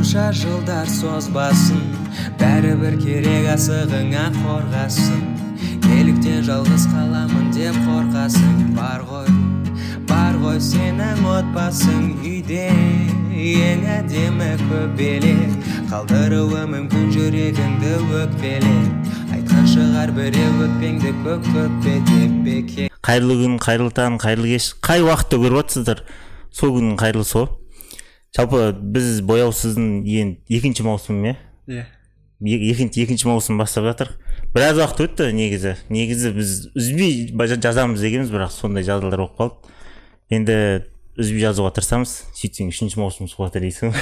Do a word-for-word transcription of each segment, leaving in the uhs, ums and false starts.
қанша жылдар созбасын, бәрібір керек асығыңа қорғасын. Неліктен жалғыз қаламын деп қорқасың? Бар ғой, бар ғой сенің отбасың үйде, ең әдемі көбелек. Қалдыруы мүмкін жүрегіңді өкпелеп, айтқан шығар біреу өкпеңді көк көкпе деп беке. Қайырлы күн, қайырлы таң, қайырлы кеш. Қай уақытта көріп жатсыздар? Сол күннің қайырлысы ғой. Жалпы біз бояусыздың ең екінші маусым, е? Иә. Екінші екінші маусым бастап жатыр. Біраз уақыт өтті негізі. Негізі біз үзбей жазамыз дегенбіз, бірақ сондай жағдайлар болып қалды. Енді үзбей жазуға тырысамыз. Сөйтсең үшінші маусым суға дейсің.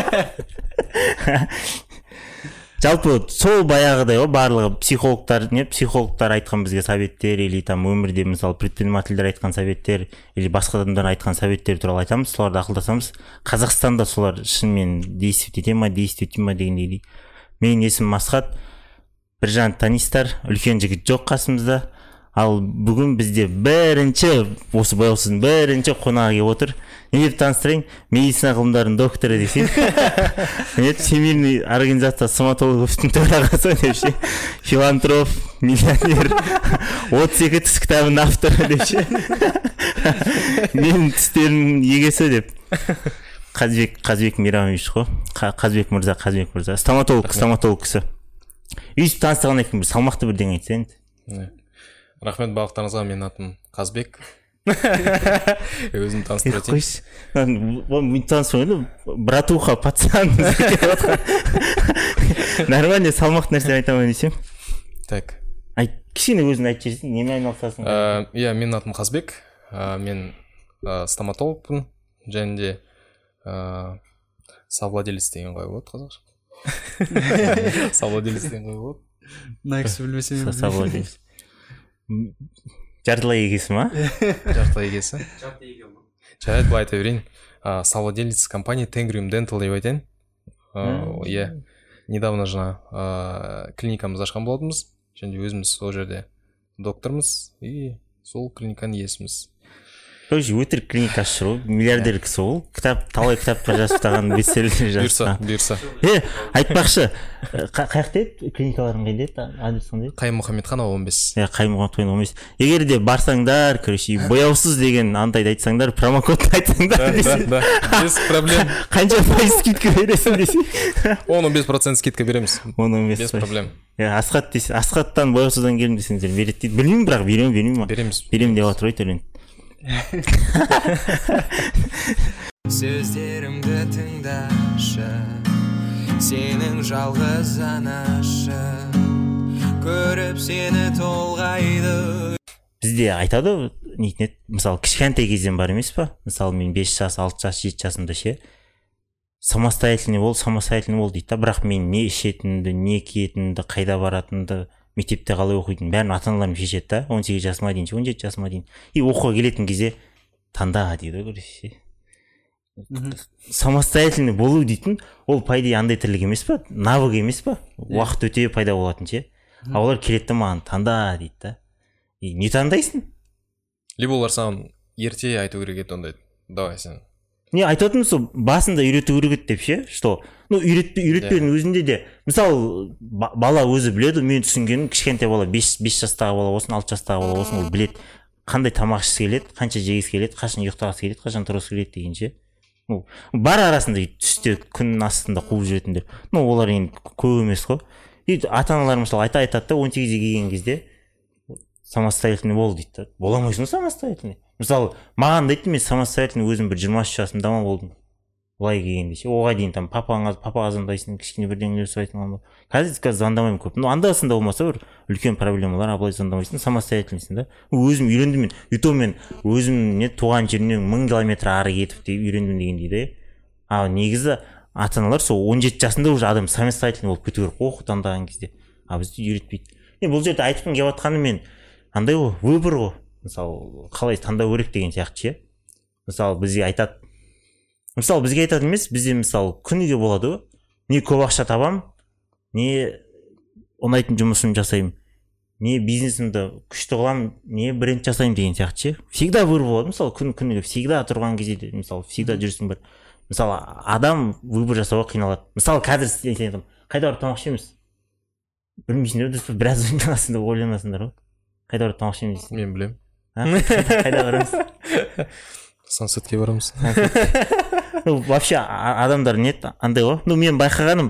Жалпы сол баяғыдай ғой, барлығы психологтар, не психологтар айтқан бізге советтер, или там өмірде мысалы предпринимательдер айтқан советтер, или басқа адамдар айтқан советтер туралы айтамыз, соларды ақылдасамыз. Қазақстанда солар шынымен действовать ете ма, действовать ете ма дегендей. Менің есімім Масхат. Біржан танисыздар, үлкен жігіт жоқ қасымызда. Ал бүгін бізде бірінші, осы бояусыздың бірінші қонағы келіп отыр. Не деп таныстырайын? Медицина ғылымдарының докторы десең. Всемирный организация стоматологовтың төрағасы депші. Филантроп, миллионер, отыз екі тіс кітабының авторы депші. Менің тістерімнің егесі деп. Қазбек, Қазбек Мейрамович қой. Қазбек мырза, Қазбек мырза. Стоматолог, стоматолог кісі. Үйсіп таныстырған екен, бір салмақты бірден айтсаң. Рахмет балықтарыңызға, менің атым Қазбек. Өзім таныстырып өтейін. Қойшы, мен таныстырып, братуха, пацан. Нормально, салмақты нәрсе айтамын десем. Так. Кішкене өзің айтып жерсің, немен айналысасың? Иә, менің атым Қазбек. Мен стоматологпын, және де совладелец деген қой болады қазақша. Совладелец деген қой болады. Найкісі білмесем. Совладелец. Жартылай егесі ма? Жартылай егесі. Жарайды, былай айта берейін. Совладелец компания Tengrium Dental деп айтайын. Иә. Недавно жаңа клиникамыз ашқан болатынбыз. Және өзіміз сол жерде доктормыз и сол клиниканың иесіміз. Тоже өтірік клиника ашыр ғой, миллиардер кісі ол. Кітап, талай кітаптар жазып тастаған, бестселлер жазып. Бұйырса, бұйырса. Е, айтпақшы, қаяқта еді? Клиникаларың қайда еді? Адрес қандай еді? Қайым Мұхаммедханов он бес. Е, Қайым Мұхаммедханов он бес. Егер де барсаңдар, короче, бояусыз деген андайды айтсаңдар, промокодты айтсаңдар десең. Да, да, без проблем. Қанша пайыз скидка бересің десең? он он бес процент скидка береміз. он он бес. Без проблем. Е, Асхат десең, Асхаттан бояусыздан келдім десеңдер береді дейді. Білмеймін, бірақ беремін, бермеймін ма? Береміз. Беремін деп жатыр ғой төлен. Сөздерімді тыңдашы, сенің жалғыз анашы, көріп сені толғайды. Бізде айтады, нетінет, мысалы, кішкентай кезден бар емес па? Мысалы, мен бес жас, алты жас, жеті жасымда ше, самостоятельный бол, самостоятельный бол дейді. Бірақ мен не ішетінді, не киетінді, қайда баратынды, мектепте қалай оқитын, бәрін ата-аналарым шешеді да, он сегіз жасыма дейін, он жеті жасыма дейін. И оқуға келетін кезде таңда дейді ғой. Самостоятельный болу дейтін, ол пайда андай тірлік емес па? Навык емес па? Уақыт өте пайда болатын ше. А олар келеді маған таңда дейді да. И не таңдайсың? Либо олар саған ерте айту керек еді ондайды. Давай сен. Не айтатын сол басында үйрету керек еді деп ше, что ну үйретпедің өзінде де, мысалы бала өзі біледі, мен түсінгенім кішкентай бала бес жастағы бала болсын, алты жастағы бала болсын, ол біледі қандай тамақ ішкісі келеді, қанша жегісі келеді, қашан ұйықтағысы келеді, қашан тұрғысы келеді деген ше. Ну бар арасында түсте күн астында қуып жүретіндер. Ну олар енді көп емес қой. И ата-аналар мысалы айта айтады да, он сегізге келген кезде самостоятельный бол дейді. Бола алмайсың самостоятельный. Мысалы, маған да айтты, мен самостоятельный өзім бір жиырма үш жасымда ма болдым. Былай келгенде ше, оған дейін там папаңа, папаға звондайсың, кішкене бірдеңелер сұрайтын болған. Қазір қазір звондамаймын көп. Ну, анда-санда болмаса бір үлкен проблемалар, а былай звондамайсың, самостоятельныйсың да. Өзім үйрендім мен. Ютуб мен өзім не туған жерімнен мың километр ары кетіп деп үйрендім деген дейді. А негізі ата-аналар сол он жеті жасында уже адам самостоятельный болып кету керек оқу таңдаған кезде. А бізді үйретпейді. Мен бұл жерде айтқым келіп жатқаны мен андай ғой, выбор ғой. Мысалы, қалай таңдау керек деген сияқты ше. Мысалы, бізге айтады. Мысалы, бізге айтады емес, бізде мысалы күніге болады ғой. Не көп ақша табам, не ұнайтын жұмысын жасаймын, не бизнесімді күшті қылам, не бренд жасаймын деген сияқты ше. Всегда выбор болады. Мысалы, күн күніге всегда тұрған кезде, мысалы, всегда жүрсің бір. мысалы адам выбор жасауға қиналады. Мысалы қазір сен айтамын, қайда барып тамақ ішеміз? Білмейсіңдер, біраз ойланасыңдар, ойланасыңдар ғой. Қайда барып тамақ ішеміз? Мен білем. Қайда барамыз? Сансетке барамыз. Ну, вообще адамдар нет, андай ғой. Ну, мен байқағаным,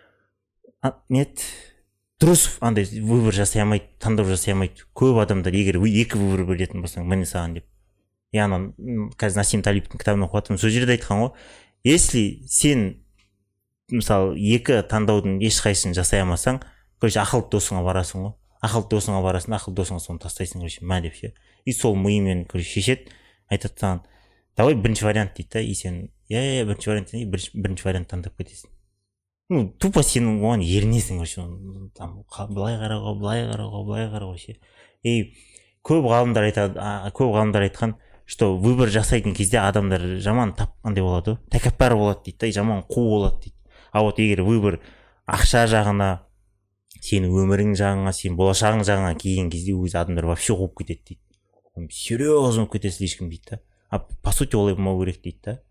нет, дұрыс андай выбор жасай алмайды, таңдау жасай алмайды. Көп адамдар егер екі выбор беретін болсаң, міне саған деп. Яғни қазір Насим Талиптің кітабын оқып жатырмын. Сол жерде айтқан ғой, если сен мысалы екі таңдаудың ешқайсысын жасай алмасаң, короче, ақылды досыңа барасың ғой. Ақылды досыңа барасың, ақылды досыңа соны тастайсың, короче, мә деп ше. И сол миымен короче шешеді, айтады саған, давай бірінші вариант дейді да, и сен, иә, бірінші вариант дейді, бірінші вариант таңдап кетесің. Ну, тупо сен оған ерінесің, короче, там былай қарауға, былай қарауға, былай қарауға ше. И көп ғалымдар айтады, көп ғалымдар айтқан, что выбор жасайтын кезде адамдар жаман тапқандай болады, тәкаппар болады дейді да, жаман қу болады дейді. А вот егер выбор ақша жағына, сенің өмірің жағына, сен болашағың жағына келген кезде өзі адамдар вообще қуып кетеді дейді. Серьезно болып кетесіз ешкім дейді да. А по сути олай болмау керек дейді да.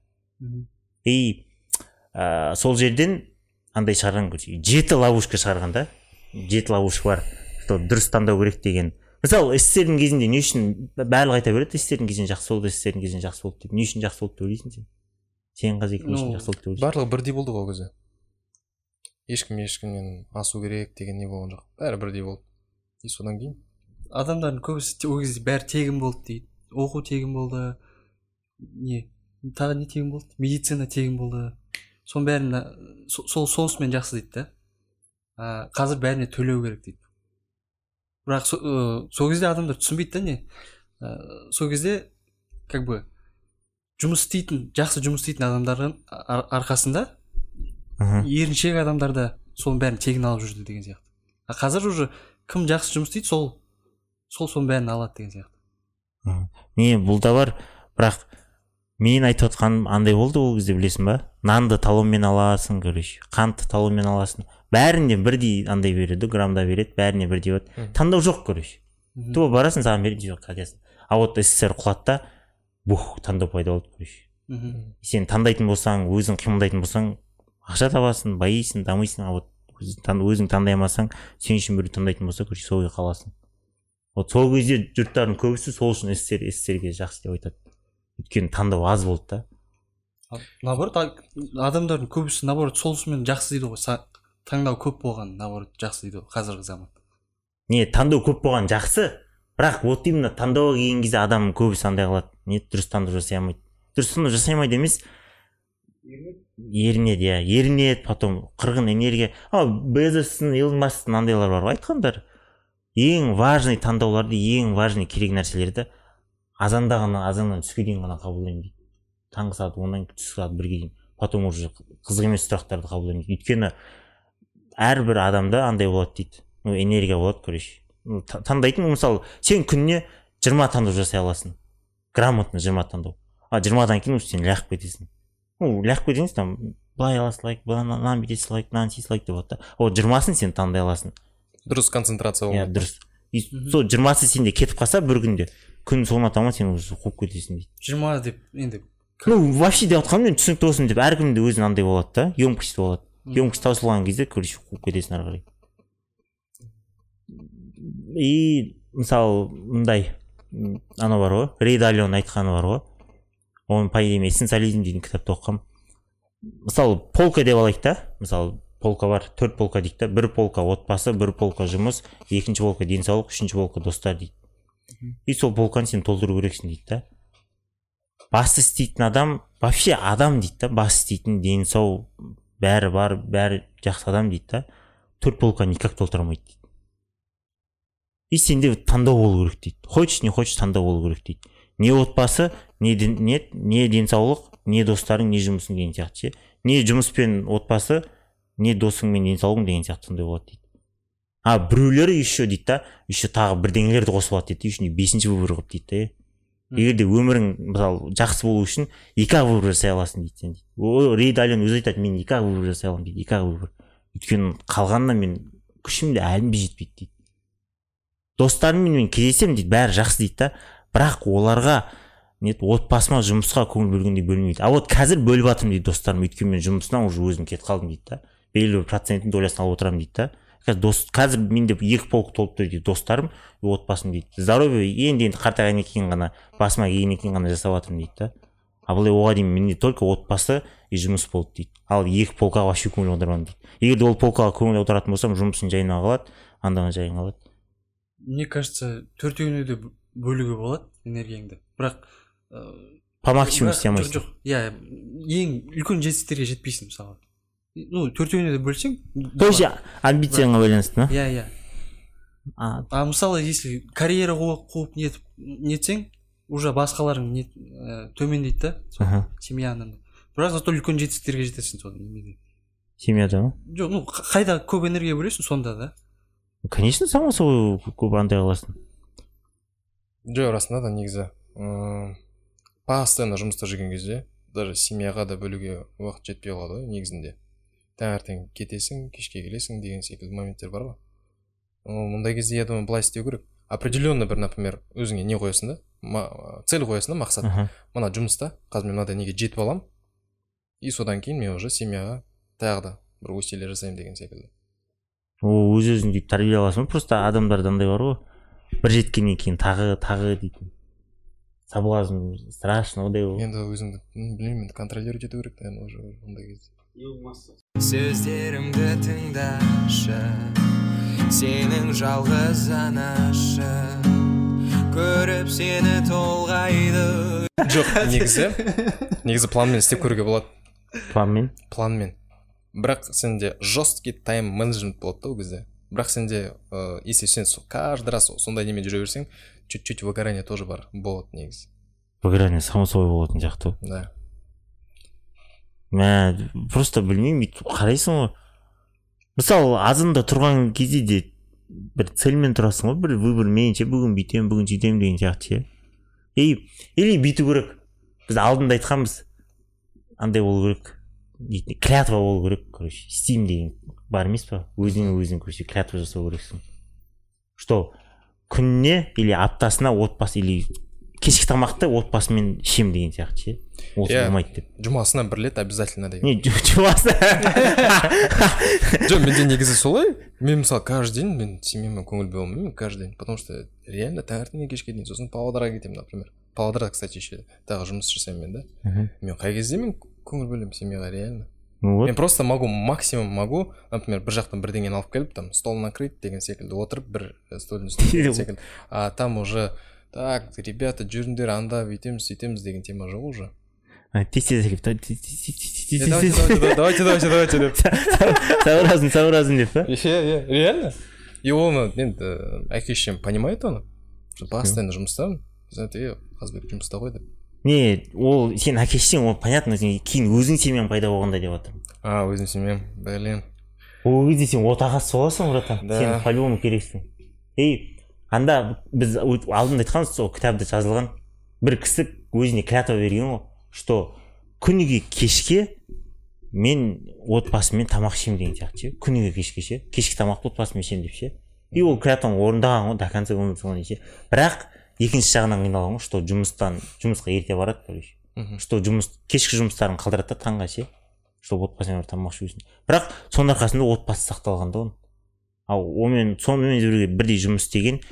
И ә, сол жерден андай шығарған көрсе, жеті ловушка шығарған да. Жеті ловушка бар. Дұрыс таңдау керек деген. Мысалы, эстердің кезінде не үшін барлығы айта береді, эстердің кезінде жақсы болды, эстердің кезінде жақсы болды деп. Не үшін жақсы болды деп ойлайсың сен? Сен қазір не үшін жақсы болды деп ойлайсың? Барлығы бірдей болды ғой ол кезде. Ешкім ешкімнен асу керек деген не болған жоқ. Бәрі бірдей болды. И содан кейін адамдардың көбісі ол кезде бәрі тегін болды дейді. Оқу тегін болды. Не? Тағы не тегін болды? Медицина тегін болды. Соның бәрін сол сонысымен жақсы дейді да. Қазір бәріне төлеу керек дейді. Бірақ сол кезде адамдар түсінбейді да не? Сол кезде как бы жұмыс істейтін, жақсы жұмыс істейтін адамдардың арқасында еріншек адамдарда соның бәрін тегін алып жүрді деген сияқты. А қазір уже кім жақсы жұмыс істейді, сол сол соның бәрін алады деген сияқты. Не, бұл да бар, бірақ мен айтып отқаным андай болды ол кезде, білесің ба? Нанды талонмен аласың, короче, қантты талонмен аласың. Бәрінде бірдей андай береді, грамда береді, бәріне бірдей болады. Таңдау жоқ, короче. Туа барасың, саған береді, жоқ, қадесің. А вот СССР құлады да, бух, таңдау пайда болды, короче. Сен таңдайтын болсаң, өзің қимылдайтын болсаң, ақша табасың, байисың, дамисың. А вот өзің таңдай алмасаң, сен үшін біреу таңдайтын болса, короче, сол күйі қаласың. Вот сол кезде жұрттардың көбісі сол үшін СССР СССРге жақсы деп айтады. Өйткені таңдау аз болды да. Наоборот, адамдардың көбісі наоборот сол үшін жақсы дейді ғой. Таңдау көп болған наоборот жақсы дейді ғой қазіргі заман. Не, таңдау көп болған жақсы, бірақ вот именно таңдауға келген кезде адам көбісі андай қылады. Не, дұрыс таңдау жасай алмайды. Дұрыс таңдау жасай алмайды емес. Ерінеді, иә, ерінеді, потом қырғын энергия. А Безостың, Илон Масктың андайлар бар ғой айтқандар. Ең важный таңдауларды, ең важный керек нәрселерді азанда ғана, азаннан түске дейін ғана қабылдаймын дейді. Таңғы сағат оннан түскі сағат бірге дейін. Потом уже қызық емес сұрақтарды қабылдаймын дейді. Өйткені әрбір адамда андай болады дейді. Ну, энергия болады, короче. Ну, таңдайтын, мысалы, сен күніне жиырма таңдау жасай аласың. Грамотно жиырма таңдау. А жиырмадан кейін сен ләқып кетесің. Ну, ләқып кетесің, там, былай аласың лайк, былай бүйтесің лайк, мынаны істейсің лайк деп болады да. О, жиырмасын сен таңдай аласың. Дұрыс концентрация болады. Иә, дұрыс. И сол жиырмасы сенде кетіп қалса бір күнде, күн соңына таман сен уже қуып кетесің дейді. жиырма деп енді. Ну, вообще деп отқаным мен түсінікті болсын деп, әркімде өзінің андай болады да, емкость болады. Емкость таусылған кезде, короче, қуып кетесің ары қарай. И мысалы мындай анау бар ғой, Рей Далионың айтқаны бар ғой. Оның по идее эссенциализм деген кітапты оқығам. Мысалы полка деп алайық та, мысалы полка бар, төрт полка дейді да, бір полка отбасы, бір полка жұмыс, екінші полка денсаулық, үшінші полка достар дейді. И сол полканы сен толтыру керексің дейді да. Басты істейтін адам, вообще адам дейді да, басты істейтін денсау, бәрі бар, бәрі жақсы адам дейді да, төрт полканы никак толтыра алмайды дейді. И сенде таңдау болу керек дейді. Хочешь, не хочешь, таңдау болу керек дейді. Не отбасы, не, не, не денсаулық, не достарың, не жұмысың деген сияқты. Не жұмыс пен отбасы, не досың мен денсаулығың деген сияқты сондай болады дейді. А біреулері еще дейді да, еще тағы бірдеңелерді қосып алады дейді, еще бесінші выбор қылып дейді да. Егер де өмірің мысалы жақсы болу үшін екі-ақ выбор жасай аласың дейді сен дейді. О, Рей Далион өзі айтады, мен екі-ақ выбор жасай аламын дейді, екі-ақ выбор. Өйткені қалғанына мен күшім де әлім жетпейді дейді. Достарыммен мен кездесемін дейді, бәрі жақсы дейді да, бірақ оларға нет отбасыма жұмысқа көңіл бөлгендей бөлмейді. А вот қазір бөліп жатырмын дейді достарым, өйткені мен жұмысынан уже өзім кетіп қалдым дейді да. Белгілі бір проценттің долясын алып отырамын дейді да. Қазір дос қазір менде екі полк толып тұр дейді достарым, отбасым дейді. Здоровье енді енді қартайғаннан кейін ғана, басыма келгеннен кейін ғана жасап жатырмын дейді да. А былай оған дейін менде только отбасы и жұмыс болды дейді. Ал екі полкаға вообще көңіл аудармадым дейді. Егер де ол полкаға көңіл аударатын болсам, жұмысың жайына қалады, андаған жайын қалады. Мне кажется, төртеуіне де бөлуге болады энергияңды. Бірақ по максимуму істемейсің. Жоқ, иә, ең үлкен жетістіктерге жетпейсің мысалы. Ну, төртеуіне де бөлсең, то есть амбицияңа байланысты, ма? Иә, иә. А мысалы, если карьера қуып нетіп нетсең, уже басқаларың нет төмендейді да, семьяның. Бірақ зато үлкен жетістіктерге жетесің содан немеде. Семьяда ма? Жоқ, ну, қайда көп энергия бөлесің сонда да. Конечно, само собой көп андай қыласың. Жоқ, расында да негізі постоянно жұмыста жүрген кезде даже семьяға да бөлуге уақыт жетпей қалады ғой негізінде. Таңертең кетесің, кешке келесің деген секілді моменттер бар ғой. Мұндай кезде я думаю, былай істеу керек. Определенно бір, например, өзіңе не қоясың да, цель қоясың да, мақсат. Мына жұмыста қазір мен мынадай неге жетіп алам, и содан кейін мен уже семьяға тағы да бір усилие жасаймын деген секілді. О, өз-өзің дейді тәрбие аласың, просто адамдарда андай бар ғой. Бір жеткеннен кейін тағы тағы дейтін. Соблазн страшно одай ғой. Енді өзіңді білмеймін, енді контролировать ету керек та уже ондай кезде. Сөздерімді тыңдашы, сенің жалғыз анашы, көріп сені толғайды. Жоқ, негізі негізі планмен істеп көруге болады. Планмен? Планмен. Бірақ сенде жесткий тайм менеджмент болады да ол кезде. Бірақ сенде, если сен каждый раз сондай немен жүре берсең, чуть-чуть выгорание тоже бар болады негізі. Выгорание само собой болатын сияқты. Да. Мә, просто білмеймін, қарайсың ғой. Мысалы, азында тұрған кезде де бір цельмен тұрасың ғой, бір выбор менше бүгін бүйтем, бүгін сөйтем деген сияқты. Ей, или бүйту керек. Біз алдында айтқанбыз. Андай болу керек. Клятва болу керек, короче. Істеймін деген бар емес па? Өзіңе өзің короче клятва жасау керексің. Что күніне или аптасына отбасы или кешкі тамақты отбасымен ішем деген сияқты. Ол болмайды деп. Жұмасына бір рет обязательно деген. Не, жұмасына. Жоқ, менде негізі солай. Мен мысалы каждый день мен семьямен көңіл бөле алмаймын каждый день, потому что реально таңертеңнен кешке дейін сосын Павлодарға кетемін, например. Павлодарда, кстати, еще тағы жұмыс жасаймын мен да. Мен қай кезде мен көңіл бөлемін семьяға реально. Мен просто могу, максимум могу, например, бір жақтан бірдеңені алып келіп, там стол накрыть деген секілді отырып бір столдың үстінде секілді. А там уже так, ребята, жүріңдер, анда бүйтеміз, сөйтеміз деген тема жоқ уже. Тез-тез келіп, давайте, давайте, давайте деп. Сообразно, сообразно деп, па? Реально? И оны, енді, әке-шешем понимает оны. Постоянно жұмыстамын. Знаете, Қазбек жұмыста ғой деп. Не, ол сен әке-шешең, ол понятно, кейін өзің семьяң пайда болғанда деп жатырмын. А, өзім семьям, блин. Ол кезде сен отағасы боласың, братан. Сен по-любому керексің. Ей, анда біз алдында айтқанбыз, сол кітапта жазылған бір кісі өзіне клятва берген ғой, что күніге кешке мен отбасыммен тамақ ішемін деген сияқты. Күніге кешке ше, кешкі тамақты отбасыммен ішемін деп ше. И ол клятваны орындаған ғой, до конца өмір соңына ше. Бірақ екінші жағынан қиналған ғой, что жұмыстан жұмысқа ерте барады, короче. Что жұмыс кешкі жұмыстарын қалдырады да таңға ше, чтобы отбасымен тамақ ішесін. Бірақ соның арқасында отбасы сақталған да оның. Ал онымен сонымен бірге бірдей жұмыс істеген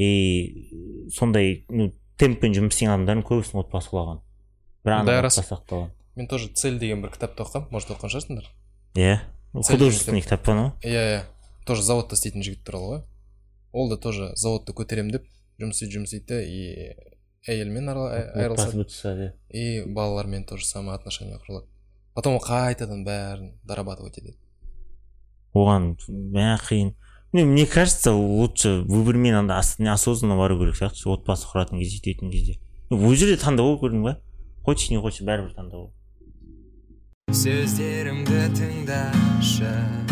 и сондай, ну, темппен жұмыс істеген адамдардың көбісінің отбасы құлаған. Бірақ ана отбасы сақталған. Мен тоже цель деген бір кітапты оқығам, может оқыған шығарсыңдар? Иә, художественный кітап па анау? Иә, иә. Тоже заводта істейтін жігіт туралы ғой. Ол да тоже заводты көтерем деп жұмыс істейді, жұмыс істейді и әйелмен айырылысады. И балалармен тоже самое отношение құрылады. Потом қайтадан бәрін дорабатывать етеді. Оған бәрі қиын. Мне кажется, лучше выбормен анда осознанно бару керек сияқты, отбасы құратын кезде, жететін кезде. Өз жерде таңдау көрдің ба? Хочешь, не хочешь, бәрібір таңдау. Сөздерімді тыңдашы,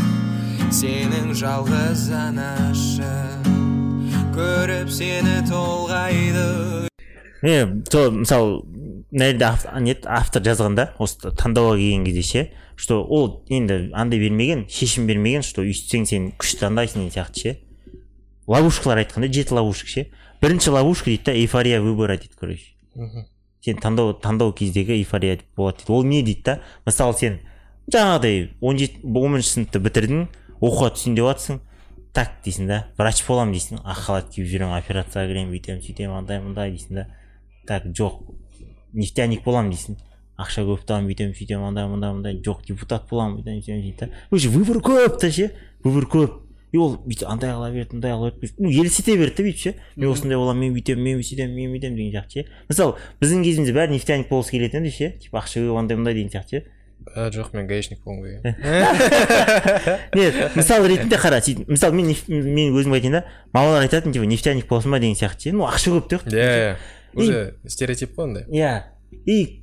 сенің жалғыз анашы, көріп сені толғайды. Не, то, мысалы, автор жазғанда, осы таңдауға келген кезде ше, что ол енді андай бермеген, шешім бермеген, что үйтсең сен күшті таңдайсың деген сияқты ше. Ловушкалар айтқанда, жеті ловушка ше. Бірінші ловушка дейді да, эйфория выбора дейді, короче. сен таңдау таңдау кездегі эйфория болады дейді. Ол не дейді да? Мысалы сен жаңағыдай он жеті он бірінші сыныпты бітірдің, оқуға түсейін деп жатсың, так дейсің да, врач боламын дейсің, ақ халат киіп жүремін, операцияға кіремін, бүйтемін, сөйтемін, андай мындай дейсің да. Так, жоқ, нефтяник боламын дейсің, ақша көп табамын, бүйтемін, сөйтемін, андай мындай мындай, жоқ, депутат боламын, бүйтемін, сөйтемін дейді да. Уже выбор көп та ше, выбор көп. И ол бүйтіп андай қыла берді, андай қыла берді, ну елестете берді да бүйтіп ше. Мен осындай боламын, мен бүйтемін, мен сөйтемін, мен бүйтемін деген сияқты ше. Мысалы, біздің кезімізде бәрі нефтяник болғысы келетін еді ше, типа ақша көп, андай мындай деген сияқты ше. А, жоқ, мен гаишник болғым келген. Нет, мысал ретінде қара, мысалы мен мен өзім айтайын да, мамалар айтатын типа нефтяник болсын ба деген сияқты ше. Ну ақша көп те. Иә, уже стереотип қой андай. Иә. И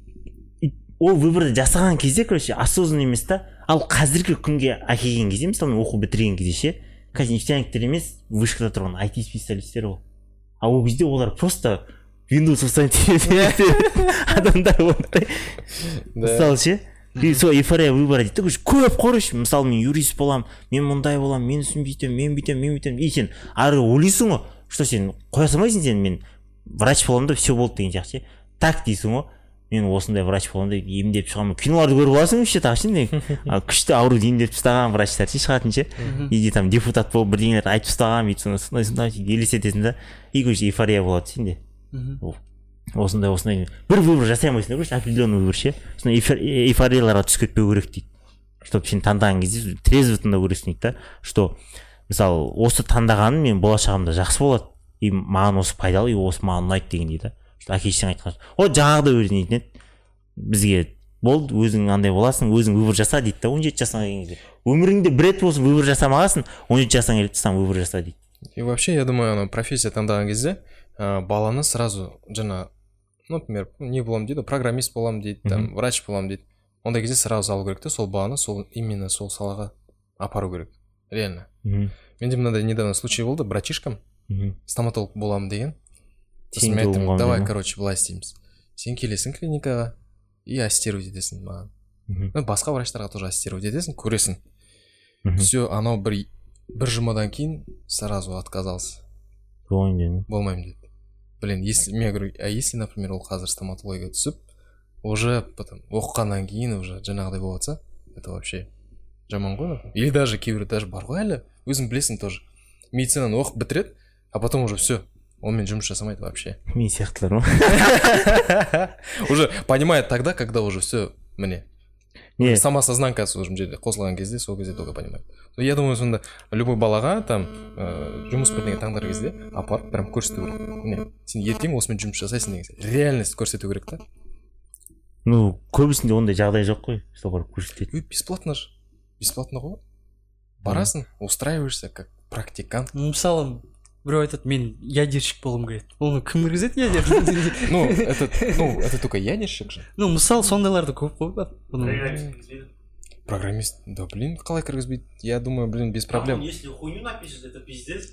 ол выборды жасаған кезде, короче, осознанно емес та. Ал қазіргі күнге әкелген кезде, мысалы мен оқу бітірген кезде ше, қазір нефтяниктер емес, вышкада тұрған ай ти специалисттер ол. А ол кезде олар просто Windows тоқсан адамдар болды. Мысалы ше, и сол эйфория выбора дейді. Көп короче, мысалы мен юрист боламын, мен мұндай боламын, мен үстін бүйтемін, мен бүйтемін, мен бүйтемін. И сен ары ойлайсың ғой, что сен қоя салмайсың сен, мен врач боламын да все болды деген сияқты ше. Так дейсің ғой. Мен осындай врач боламын деп емдеп шығамын. Киноларды көріп аласың ше, так ше. Күшті ауруды емдеп тастаған врачтар ше шығатын ше. Иди там депутат болып бірдеңелерді айтып тастаған, бүйтіп сондай сондай елестетесің да. И короче эйфория болады сенде. Осындай осындай бір выбор жасай алмайсың, короче, определенный выбор ше. Сондай эйфорияларға түсіп кетпеу керек дейді. Чтобы сен таңдаған кезде трезво таңдау керексің дейді да. Что мысалы осы таңдағаным мен болашағымда жақсы болады. И маған осы пайдалы, и осы маған ұнайды деген дейді. Әкешің айтқан. О, жаңағыда өзін айтын еді. Бізге болды, өзің андай боласың, өзің выбор жаса дейді да, он жеті жасыңа келген кезде. Өміріңде бір рет болсын выбор жасамағансың, он жеті жасыңа келіп сам выбор жаса дейді. И вообще, я думаю, ана профессия таңдаған кезде, баланы сразу жаңа, например, не боламын дейді, программист боламын дейді, там врач боламын дейді. Ондай кезде сразу алу керек те, сол баланы сол именно сол салаға апару керек. Реально. Менде мынандай недавно случай болды, братишкам стоматолог боламын деген. Сосын мен айттым, давай, короче, былай істейміз. Сен келесің клиникаға и ассистировать етесің маған. Ну, басқа врачтарға тоже ассистировать етесің, көресің. Все, анау бір бір жұмадан кейін сразу отказался. Болмаймын деді. Блин, если мен говорю, а если, например, ол қазір стоматология түсіп, уже потом оқығаннан кейін уже жаңағыдай болатса, это вообще жаман ғой. Или даже кейбір даже бар ғой әлі, өзің білесің тоже. Медицинаны оқып бітіреді, а потом уже все. Он жұмыс жасамайды вообще. Мен сияқтылар ма? Уже понимает тогда, когда уже все мне. Самосознанкасы уже жерде қосылған кезде, сол кезде только понимает. Я думаю, сонда любой балаға там жұмыс бірдеңе таңдар кезде апарып прям көрсету керек. Міне, сен ертең осымен жұмыс жасайсың деген сияқты. Реальность көрсету керек та. Ну, көбісінде ондай жағдай жоқ қой. Сол барып көрсетеді. Бесплатно же. Бесплатно ғой. Барасың, устраиваешься как практикант. Мысалы, біреу айтады, мен ядерщик болғым келеді. Оны кім кіргізеді ядер? Ну, это, ну, это только ядерщик же. Ну, мысалы, сондайларды көп қой бар. Программист, да блин, қалай кіргізбейді? Я думаю, блин, без проблем. Если хуйню напишет, это пиздец.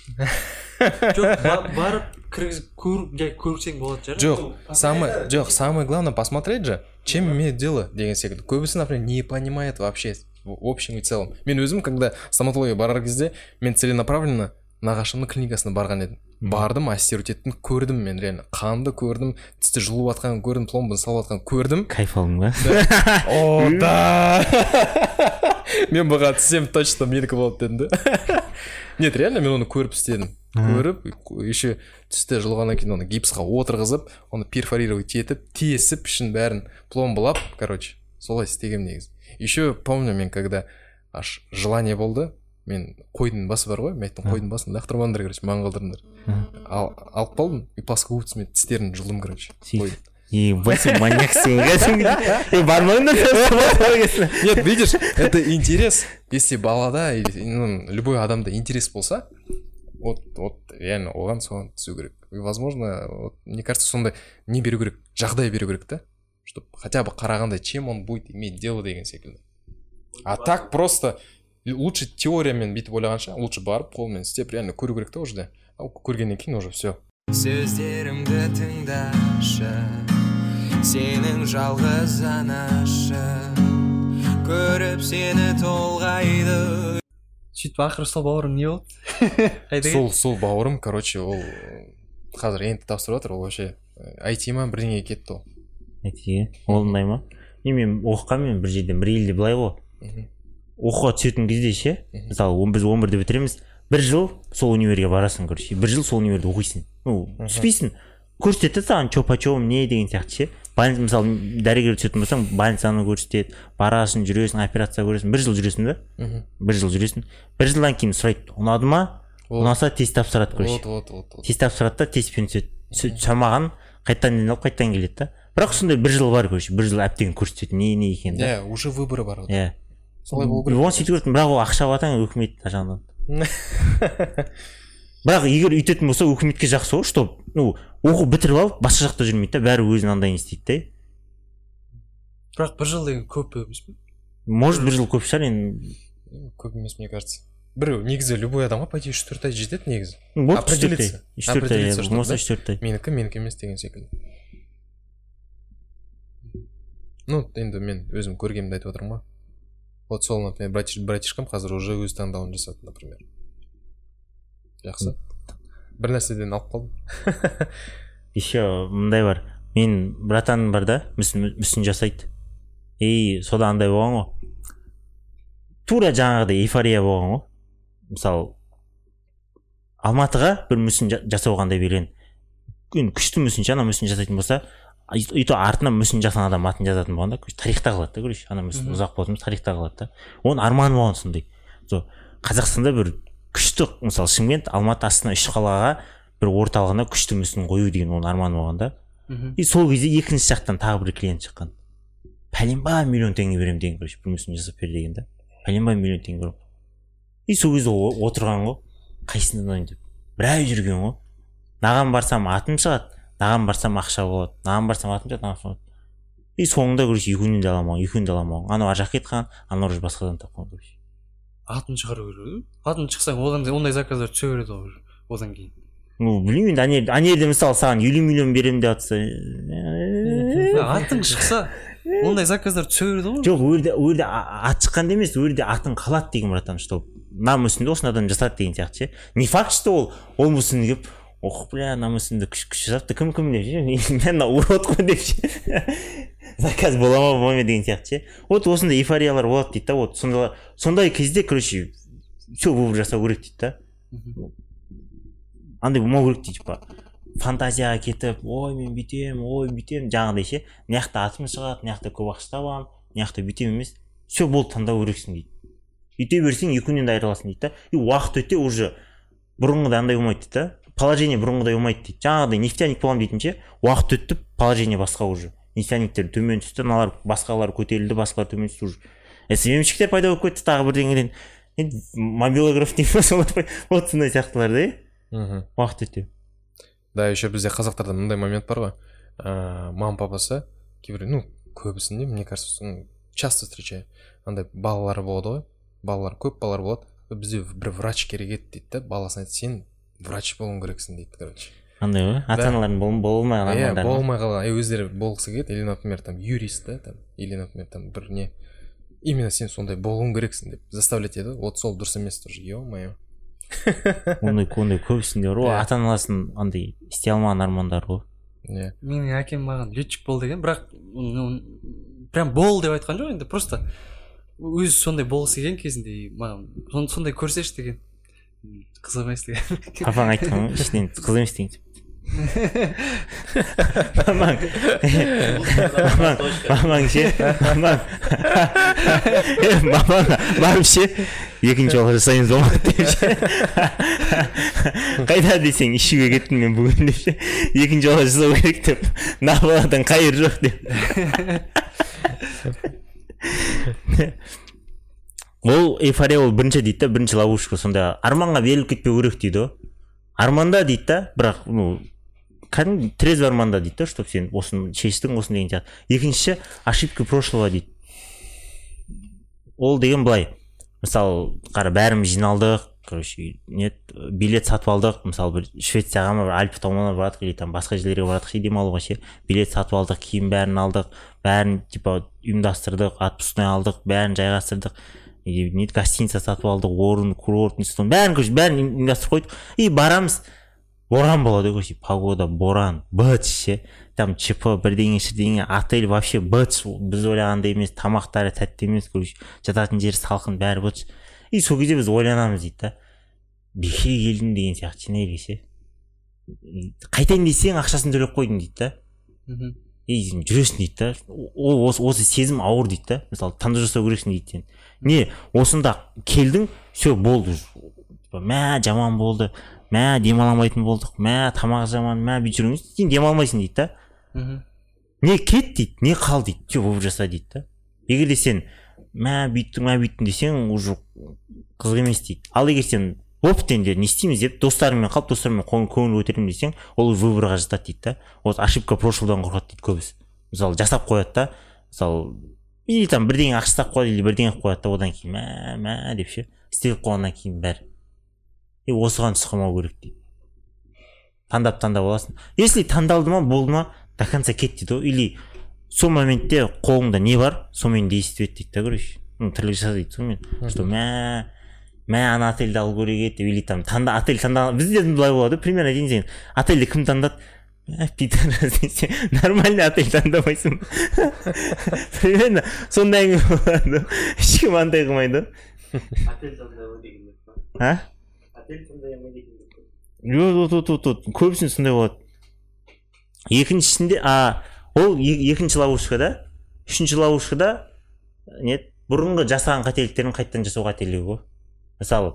Жоқ, барып көрсең болады. Жоқ, самое, жоқ, самое главное посмотреть же, чем имеет дело деген секілді. Көбісі, например, не понимает вообще в общем и целом. Мен өзім, когда стоматология барар кезде, мен целенаправленно нағашымның клиникасына барған едім. Бардым, ассистировать еттім, көрдім мен реально. Қанды көрдім, тісті жұлып атқан көрдім, пломбаны салып атқан көрдім. Кайф алдың ба? О, да! Мен бұға тісем точно менікі болады дедім да. Нет, реально мен оны көріп істедім. Көріп, еще түсті жұлғаннан кейін оны гипсқа отырғызып, оны перфорировать етіп, тесіп, ішін бәрін пломбылап, короче, солай істегем негізі. Еще помню мен, когда аж желание болды, мен қойдың басы бар ғой, мен айттым қойдың басын лақтырмаңдар, короче, маған қалдырыңдар. Алып қалдым, и плоскогубцами тістерін жұлдым, короче. Ебать, маньяксың. Бармаңдар. Нет, видишь, это интерес. Если балада или любой адамда интерес болса, вот реально оған соған түсу керек. И возможно, мне кажется, сондай не беру керек, жағдай беру керек та, чтобы хотя бы қарағандай, чем он будет иметь дело деген секілді. А так просто лучше теориямен бүйтіп ойлағанша, лучше барып қолмен істеп реально көру керек та уже да. Көргеннен кейін уже все. Сөздерімді тыңдашы, сенің жалғыз анашы, көріп сені толғайды. Сөйтіп ақыры сол бауырым не болды? Сол сол бауырым, короче, ол қазір енді тапсырып жатыр, ол вообще ай ти ма бірдеңеге кетті ол. Әйтеге орындай ма? Мен оқығанмын бір жерден, бір елде былай ғой. Оқуға түсетін кезде ше, мысалы біз он бірде бітіреміз, бір жыл сол универге барасың, короче, бір жыл сол универде оқисың. Ну, түспейсің. Көрсетеді саған чопа-чопым не деген сияқты ше. Больница, мысалы дәрігер түсетін болсаң, больницаны көрсетеді, барасың, жүресің, операция көресің, бір жыл жүресің да? Бір жыл жүресің. Бір жылдан кейін сұрайды, ұнады ма? Ұнаса тест тапсырады, короче. Вот, вот, вот. Тест тапсырады да, тестпен түседі. Шамаған қайтадан ден алып, қайтадан келеді да. Бірақ сондай бір жыл бар, короче, бір жыл әптеген көрсетеді, не не екен да. Иә, уже выборы бар. Иә. Солай болу керек. Оны сөйтіп көрдім, бірақ ол ақша алатын өкімет жағынан. Бірақ егер үйтетін болса, өкіметке жақсы ғой, что, ну, оқу бітіріп алып, басқа жақта жүрмейді да, бәрі өзінің андайын істейді да. Бірақ бір жыл деген көп емес пе? Может, бір жыл көп шығар, енді. Көп емес, мне кажется. Бір негізі любой адамға по идее үш төрт ай жетеді негізі. Определиться. үш төрт ай, болмаса үш төрт ай. Менікі, менікі емес деген секілді. Ну, енді мен өзім көргенімді айтып отырмын ғой. Вот сол, например, братишкам қазір уже өз таңдауын жасады, например. Жақсы. Бір нәрседен алып қалдым. Еще мындай бар. Мен братаным бар да, мүсін жасайды. И сода андай болған ғой. Тура жаңағыдай эйфория болған ғой. Мысалы, Алматыға бір мүсін жасауғандай берген. Күшті мүсін, ана мүсін жасайтын болса, үйті артына мүсін жасаған адам атын жазатын болғанда, тарихта қалады да, көрші, ана мүсін ұзақ болсын, тарихта қалады да. Оның арманы болған сондай. Қазақстанда бір күшті, мысалы Шымкент, Алматы астына үш қалаға бір орталығына күшті мүсін қою деген оның арманы болған да. И сол кезде екінші жақтан тағы бір клиент шыққан. Пәленбай миллион теңге беремін деген, көрші, бір мүсін жасап бер деген да. Пәленбай миллион теңге беремін. И сол кезде отырған ғой, қайсынан ойын деп. Бір ай жүрген ғой. Наған барсам атым шығады, наған барсам ақша болады, наған барсам атым шығады, наған шығады. И соңында көрші екеуінен де аламауын, екеуінен де аламауын. Анау ар жаққа кетқан, анау уже басқадан тапқан көрші. Атын шығару керек. Атын шықсаң, одан ондай заказдар түсе береді ғой одан кейін. Ну, білмеймін, ана жерде мысалы саған елу миллион беремін деп жатса. Атың шықса, ондай заказдар түсе береді ғой. Жоқ, ол жерде ат шыққанда емес, ол жерде атын қалады деген братан, что нам мүсінді осынадан жасады деген сияқты ше. Не факт, что ол ол мүсінді келіп, ох, бля, нам мүсінді күш жасапты, кім кім деп ше, мен урод қой деп ше. Заказ бола ма бола ма деген сияқты ше. Вот осындай эйфориялар болады дейді да, вот сондай кезде, короче, все выбор жасау керек дейді да. Андай болмау керек дейді, типа фантазияға кетіп, ой мен бүйтем, ой бүйтем, жаңағыдай ше. Мына жақта атым шығады, мына жақта көп ақша табамын, мына жақта бүйтем емес. Все болды, таңдау керексің дейді. Үйте берсең екеуінен де айырыласың дейді да. И уақыт өте уже бұрынғыдай андай болмайды дейді да. Положение бұрынғыдай болмайды дейді. Жаңағыдай нефтяник боламын дейтінше, уақыт өтті, положение басқа уже. Нефтяниктер төмен түсті, аналар басқалар көтерілді, басқалар төмен түсті уже. Семемшіктер пайда болып кетті тағы бірдеңеден. Енді мобилограф деймін ба, солар вот сондай сияқтылар да. Уақыт өте. Да, еще бізде қазақтарда мындай момент бар ғой. Мама папасы кейбір, ну, көбісінде, мне кажется, часто встречаю. Андай балалары болады ғой. Балалар көп балалар болады. Бізде бір врач керек еді дейді да. Баласына айтты, сен врач болуың керексің дейді, короче. Андай ғой, ата-аналардың болмай қалған. Иә, болмай қалған. Өздері болғысы келеді, или, например, там юрист да, там, или, например, там бір не. Именно сен сондай болуың керексің деп заставлять еді. Вот сол дұрыс емес тоже, ё-моё. Ондай ондай көбісінде бар ғой, ата-анасын андай істей алмаған армандар ғой. Иә. Менің әкем маған летчик бол деген, бірақ прям бол деп айтқан жоқ, енді просто өзі сондай болғысы келген кезінде маған сондай көрсеші деген. Қызық емес деген. Папаң айтқан ғой, ішінен қызық емес деген. Мамаң мамаң ше мамаң мамаң барып ше екінші жолға жасаймыз болмады деп ше. Қайда десең ішуге кеттім мен бүгін деп ше, екінші жолға жасау керек деп, мына баладан қайыр жоқ деп. Ол эйфория, ол бірінші дейді да, бірінші ловушка. Сонда арманға беріліп кетпеу керек дейді ғой. Арманда дейді да, бірақ ну кәдімгі трезвый арманда дейді да, чтоб сен осыны шештің, осыны деген сияқты. Екіншісі ошибка прошлого дейді. Ол деген былай, мысалы қара бәріміз жиналдық, короче, нет, билет сатып алдық, мысалы бір Швецияға ма, бір Альпі тауларына барадық, или там басқа жерлерге барадық, ше демалуға ше, билет сатып алдық, киім бәрін алдық, бәрін типа ұйымдастырдық, отпускный алдық, бәрін жайғастырдық. Нет, гостиница сатып алдық, орын, курорт, бәрін бәрін ұйымдастырып қойдық. И барамыз. боран болады короче, погода боран, быт ше, там ЧП бірдеңе шірдеңе, отель вообще быт, біз ойлағандай емес, тамақтары тәтті емес короче, жататын жері салқын, бәрі быт. И сол кезде біз ойланамыз дейді да, бекер келдім деген сияқты не ше, қайтайын десең ақшасын төлеп қойдың дейді да. И жүресің дейді да, ол осы, осы сезім ауыр дейді да, мысалы таңдау жасау керексің дейді сен. Не, осында келдің, все болды, мә жаман болды, мә демаламайтын болдық, мә тамақ жаман, мә бүйтіп жүріңіз, сен демалмайсың дейді да. Не кет дейді, не қал дейді, все болып жаса дейді да. Егер де сен мә бүйттің, мә бүйттің десең, уже қызық емес дейді. Ал егер сен опыт енді не істейміз деп достарыңмен қалып, достарыңмен көңіл көтеремін десең, ол выборға жатады дейді да. Вот ошибка прошлыдан қорқады дейді көбісі. Мысалы жасап қояды да, мысалы или там бірдеңе ақша қояды, или бірдеңе қояды да, одан кейін мә мә деп ше, істеп қойғаннан кейін бәрі. И осыған сұқымау керек дейді. Таңдап таңдап аласың. Если таңдалды ма, болды ма, до конца кет дейді ғой. Или сол моментте қолыңда не бар, сонымен действовать дейді да, короче. Ну, тірлік жаса дейді сонымен. Что мә мә ана отельді алу керек еді, или там таңда отель таңдаған, бізде былай болады, примерно дейін сен отельді кім таңдады, мә пидорас десе, нормальный отель таңдамайсың. Примерно сондай әңгіме болады, ешкім андай қылмайды. Отель таңдамай деген ба? А? Отель таңдамай деген ба? Жоқ, көбісін сондай болады. Екіншісінде, а ол екінші ловушкада, үшінші ловушкада нет, бұрынғы жасаған қателіктерін қайттан жасау қателігі ғой. Мысалы,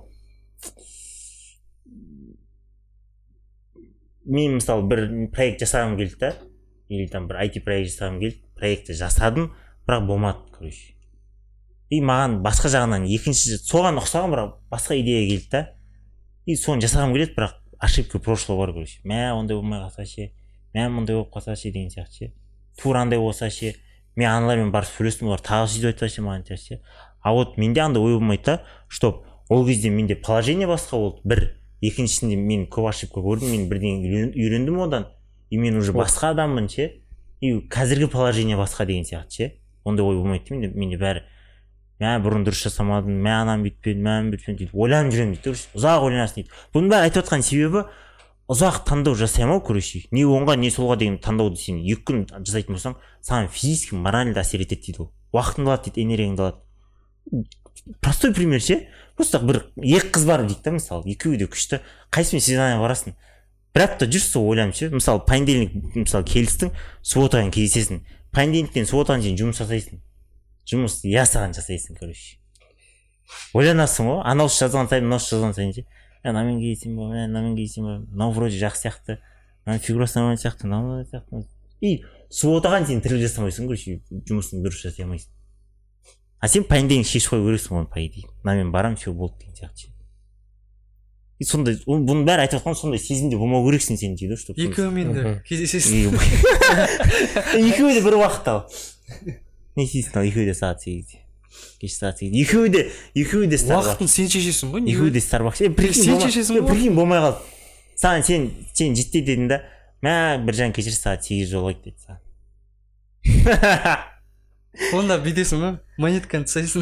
мен мысалы бір проект жасағым келді да, или там бір ай ти проект жасағым келді, проектті жасадым, бірақ болмады, короче. И маған басқа жағынан екінші, соған ұқсаған бірақ басқа идея келді да, и соны жасағым келеді, бірақ ошибка прошлого бар, короче. Мә ондай болмай қалса ше, мә ондай болып қалса ше деген сияқты ше, тура андай болса ше, мен аналармен барып сөйлестім, олар тағы сөйтіп айтса ше маған ше. А вот менде андай ой болмайды да, что ол кезде менде положение басқа болды, бір, екіншісінде мен көп ошибка көрдім, мен бірдеңе үйрендім одан, и мен уже басқа адаммын ше, и қазіргі положение басқа деген сияқты ше. Ондай ой болмайды менде, менде бәрі мә бұрын дұрыс жасамадым, мә анам бүйтпеді, мә бүйтпеді дейді, ойланып жүремін дейді, ұзақ ойланасың дейді. Бұның бәрі айтып отқан себебі ұзақ таңдау жасаймау, короче, не оңға не солға деген таңдауды сен екі күн жасайтын болсаң, саған физически морально әсер етеді дейді ол. Уақытыңды алады дейді, энергияңды алады. Простой пример ше, просто бір екі қыз бар дейді да, мысалы, екеуі де күшті, қайсымен свиданиеге барасың? Бір апта жүрсің, сол ойланып ше, мысалы, понедельник, мысалы, келістің, субботаға кездесесің, понедельниктен субботаға дейін жұмыс жасайсың, жұмыс ясаған жасайсың, короче. Ойланасың ғой, анаусы жазған сайын, мынаусы жазған сайын ше, мынамен кездесем ба, мынамен кездесем ба, мынау вроде жақсы сияқты, мынау фигурасы нормально сияқты, мынау сияқты. И субботаға сен тірлік жасамайсың, короче, жұмысын дұрыс жасай алмайсың. А сен понедельник шешіп қойып көресің оны, по идее. Мынамен барам, все болды деген сияқты. И сондай, бұның бәрі айтып отқан сондай сезімде болмау керексің сен дейді, что екеуімен де кездесесің. Екеуі де бір уақытта ал. Не істейсің ал, екеуі де сағат сегізде. Кеш сағат сегізде. Екеуі де, екеуі де Starbucks. Уақытын сен шешесің ғой. Екеуі де Starbucks. Сен шешесің ғой. Прикинь, болмай қалды. Саған сен сен жетті дедің да, мә біржан кешір сағат сегіз жолайды деді саған. Онда бүйтесің ба? Монетканы тастайсың.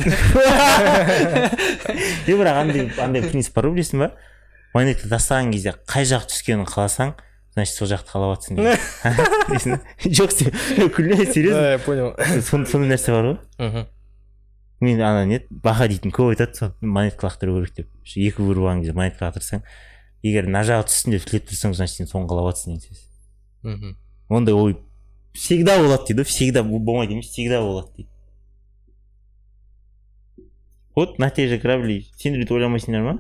Е, бірақ андай андай принцип бар білесің ба? Монетка тастаған кезде қай жақ түскенін қаласаң, значит сол жақты қалап жатсың дейді. Жоқ, сен күлме, серьезно. Да, я понял. Сондай нәрсе бар ғой. Мен ана нет, баха дейтін көп айтады, сол монетка лақтыру керек деп. Екі бір болған кезде монетка лақтырсаң, егер мына жағы түссін деп тілеп тұрсаң, значит сен соны қалап жатсың деген сөз. Ондай ой всегда болады дейді, всегда болмайды емес, всегда болады дейді. Вот на те же корабли сендер бүйтіп ойламайсыңдар ма?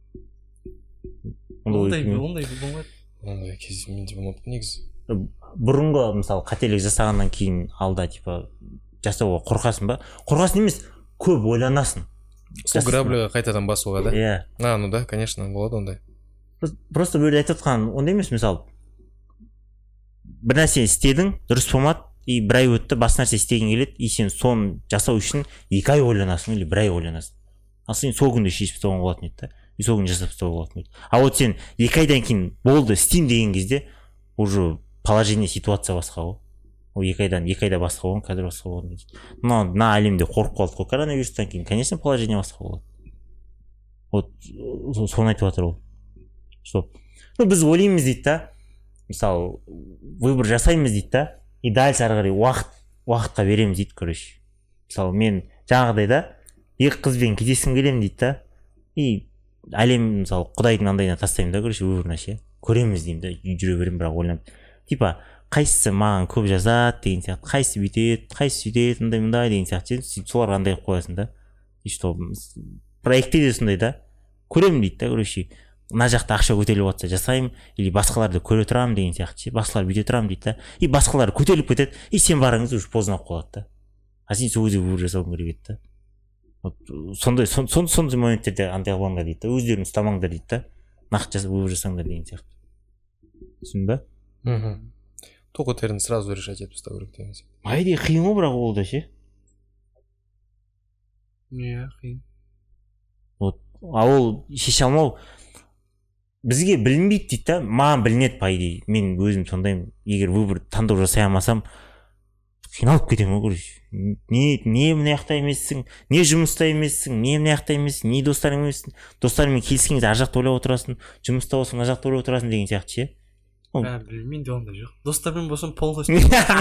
Ондай ондай болмайды. Ондай кез менде болмады негізі. Бұрынғы мысалы қателік жасағаннан кейін алда типа жасауға қорқасың ба? Қорқасың емес, көп ойланасың. Сол грабльға қайтадан басуға да? Иә. А, ну да, конечно, болады ондай. Просто бөлі айтып отқан ондай емес, мысалы бір нәрсе істедің, дұрыс болмады, и бір ай өтті, бас нәрсе істеген келеді, и сен соны жасау үшін екі ай ойланасың или бір ай ойланасың. Ал сен сол күнде шешіп тастауға болатын еді да, и сол күнде жасап тастауға болатын еді. А вот сен екі айдан кейін болды, істеймін деген кезде уже положение, ситуация басқа ғой. Ол екі айдан екі айда басқа болған, қазір басқа болған. Но мына әлемде қорқып қалдық қой коронавирустан кейін, конечно, положение басқа болады. Вот соны айтып жатыр ол. что ну біз ойлаймыз дейді да, мысалы выбор жасаймыз дейді да, и дальше ары қарай уақыт уақытқа береміз дейді. Короче, мысалы мен жаңағыдай да екі қызбен кездескім келемін дейді да, и әлем мысалы құдайдың андайына тастаймын да, короче, выборына ше көреміз деймін да, жүре беремін, бірақ ойланып типа қайсысы маған көп жазады деген сияқты, қайсысы бүйтеді, қайсысы сөйтеді, мындай мындай деген сияқты, сөйтіп соларға андай қылып қоясың да. И что проектте де сондай да, көремін дейді да, короче, мына жақта ақша көтеріліп жатса жасаймын, или басқаларды көре тұрамын деген сияқты ше, басқалар бүйте тұрамын дейді да, и басқалар көтеріліп кетеді, и сен барыңыз уже поздно болып қалады да, а сен сол кезде выбор жасауың керек еді да. Вот сондай сондай моменттерде андай қылмаңдар дейді да, өздерің ұстамаңдар дейді да, нақты выбор жасаңдар деген сияқты. Түсіндің ба? Мхм. Тоқ өтерін сразу решать етіп ұстау керек деген сияқты. По идее қиын ғой, бірақ ол да ше. Иә, қиын. Вот, а ол шеше алмау бізге білінбейді дейді да, маған білінеді по идее. Мен өзім сондаймын, егер выбор таңдау жасай алмасам қиналып кетемін ғой, короче. Не не мына жақта емессің, не жұмыста емессің, не мына жақта емессің, не достарың емессің, достарыңмен келіскенде ар жақта ойлап отырасың, жұмыста болсаң ар жақта ойлап отырасың деген сияқты ше. Ә, білмеймін де ондай жоқ. Достармен болсам полностью.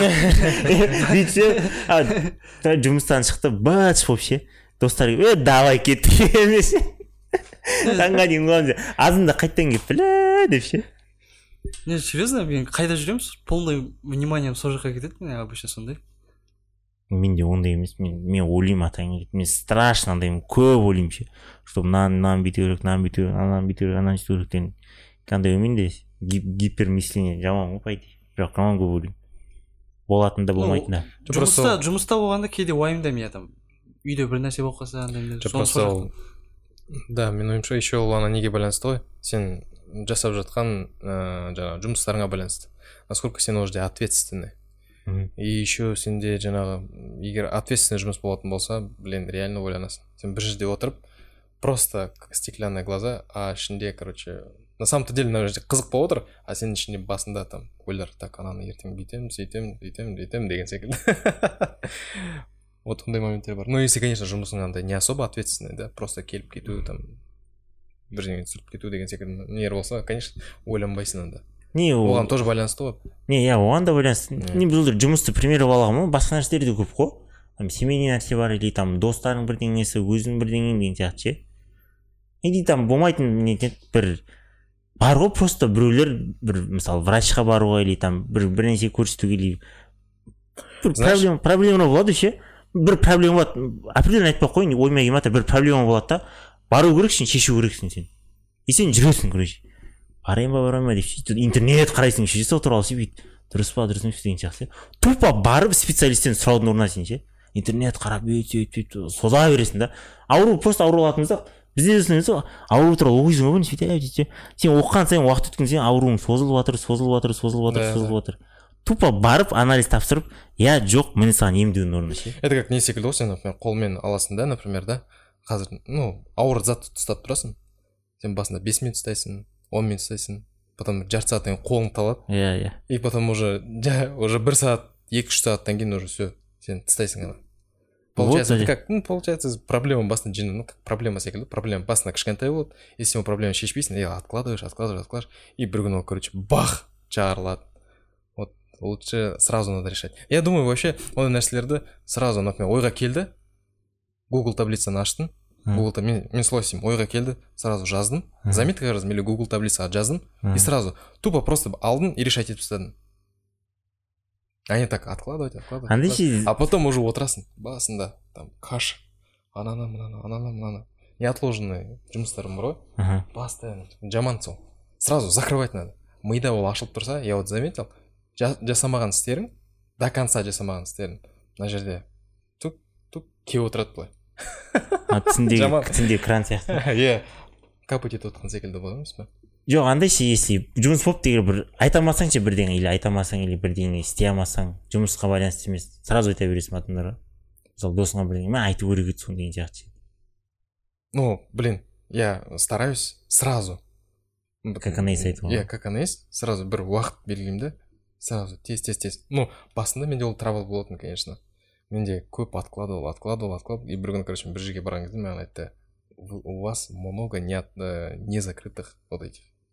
Дейді ше, жұмыстан шықты, бач болып ше, достар е давай кеттік емес. Таңға дейін қыламыз, азында қайттан келіп біле деп ше. Не, серьезно, мен қайда жүремін, полный вниманием сол жаққа кетеді, мен обычно сондай. Мен де ондай емес, мен мен ойлаймын атайын келеді, мен страшно андаймын, көп ойлаймын ше, что мынаны мынаны бүйту керек, мынаны бүйту керек, ананы бүйту керек, ананы бүйту керек деген қандай оймен де гипермысление жаман ғой по идее, бірақ жаман көп ойлаймын, болатын да болмайтын да. Жұмыста жұмыста болғанда кейде уайымдаймын, я там үйде бір нәрсе болып қалса андай. Просто ол, да, мен ойымша еще ол ана неге байланысты ғой, сен жасап жатқан ә, жаңағы жұмыстарыңа байланысты, насколько сен ол жерде ответственный. И еще сенде жаңағы егер ответственный жұмыс болатын болса, блин, реально ойланасың. Сен бір жерде отырып, просто как стеклянные глаза, а ішінде, короче, на самом-то деле мына жерде қызық болып отыр, а сенің ішінде басында там ойлар, так, ананы ертең бүйтемін, сөйтемін, бүйтемін, бүйтемін деген секілді. Вот ондай моменттер бар. Ну, если, конечно, жұмысың андай не особо ответственный, да, просто келіп кету, там, бірдеңе түсіріп кету деген секілді нелер болса, конечно, ойланбайсың анда. Не, оған тоже байланысты ғой. Не, я оған да байланысты. Не, біз жұмысты пример алғанмын ғой, басқа нәрселер де көп қой. Там семейный нәрсе бар, или там достарың бірдеңесі, өзің бірдеңең деген сияқты ше. Или там болмайтын не бір бар ғой, просто біреулер бір мысалы врачқа баруға, или там бір бір нәрсе көрсетуге, или бір проблема проблема болады ше. Бір проблема болады, определенно айтпай ақ қойын, ойыма келмей жатыр, бір проблема болады да, бару керексің, шешу керексің сен. И сен жүресің, короче. Барайын ба, барайын ба деп сөйтіп интернет қарайсың, ше, сол туралы сөйтіп дұрыс па, дұрыс емес деген сияқты. Тупо барып специалисттен сұраудың орнына сен ше. Интернет қарап өйтіп сөйтіп соза бересің да. Ауру просто ауру алатынымызда бізде де сол ауру туралы оқисың ғой, сөйтіп сен оқыған сайын уақыт өткен сайын ауруың созылып жатыр, созылып жатыр, созылып жатыр, созылып жатыр. Тупо барып анализ тапсырып, я жоқ, міне саған емдеудің орнына ше. Это как не секілді ғой, сен, например, қолмен аласың да, например, да, қазір, ну, ауыр затты ұстап тұрасың, сен басында бес минут ұстайсың, он минут ұстайсың, потом жарты сағаттан кейін қолың талады, иә, иә, и потом уже уже бір сағат, екі үш сағаттан кейін уже все, сен тастайсың ана. Получается, это как, ну, получается, проблема басында жеңіл, ну, как проблема секілді, проблема басында кішкентай болады, если сен проблема шешпейсің, я откладываешь, откладываешь, откладываешь, и бір күні ол, короче, бах, жарылады. Вот лучше сразу надо решать. Я думаю, вообще, ондай нәрселерді сразу, например, ойға келді, Google таблицаны аштың, Google, мен, мен солай істеймін, ойға келді, сразу жаздым, заметка жаздым, или Google таблицаға жаздым, и сразу тупо просто алдын и решать етіп тастадым. Они так откладывать, откладывать, откладывать. А потом уже отырасың басында, там, каша, ананы, мынаны, ананы, мынаны. Неотложенный жұмыстарым бар ғой, постоянно, жаман сол. Сразу закрывать надо. Мида ол ашылып тұрса, я вот заметил, жасамаған істерің, до конца жасамаған істерің, мына жерде тук-тук кеп отырады былай. Тісінде кран сияқты. Иә, капать етіп отқан секілді болады емес пе? Жоқ, андай ше, если жұмыс болып деген бір айта алмасаң ше бірдеңе, или айта алмасаң, или бірдеңе істей алмасаң, жұмысқа байланысты емес, сразу айта бересің адамдарға. Мысалы досыңа бірдеңе, мен айту керек еді соны деген сияқты. Ну, блин, я стараюсь сразу. Как она есть айтуға. Иә, как она есть, сразу бір уақыт белгілеймін да, сразу тез тез тез. Ну, басында менде ол трабл болатын, конечно. Менде көп откладывал, откладывал, откладывал, и бір күні, короче, бір жерге барған кезде маған айтты, у вас много не закрытых вот этих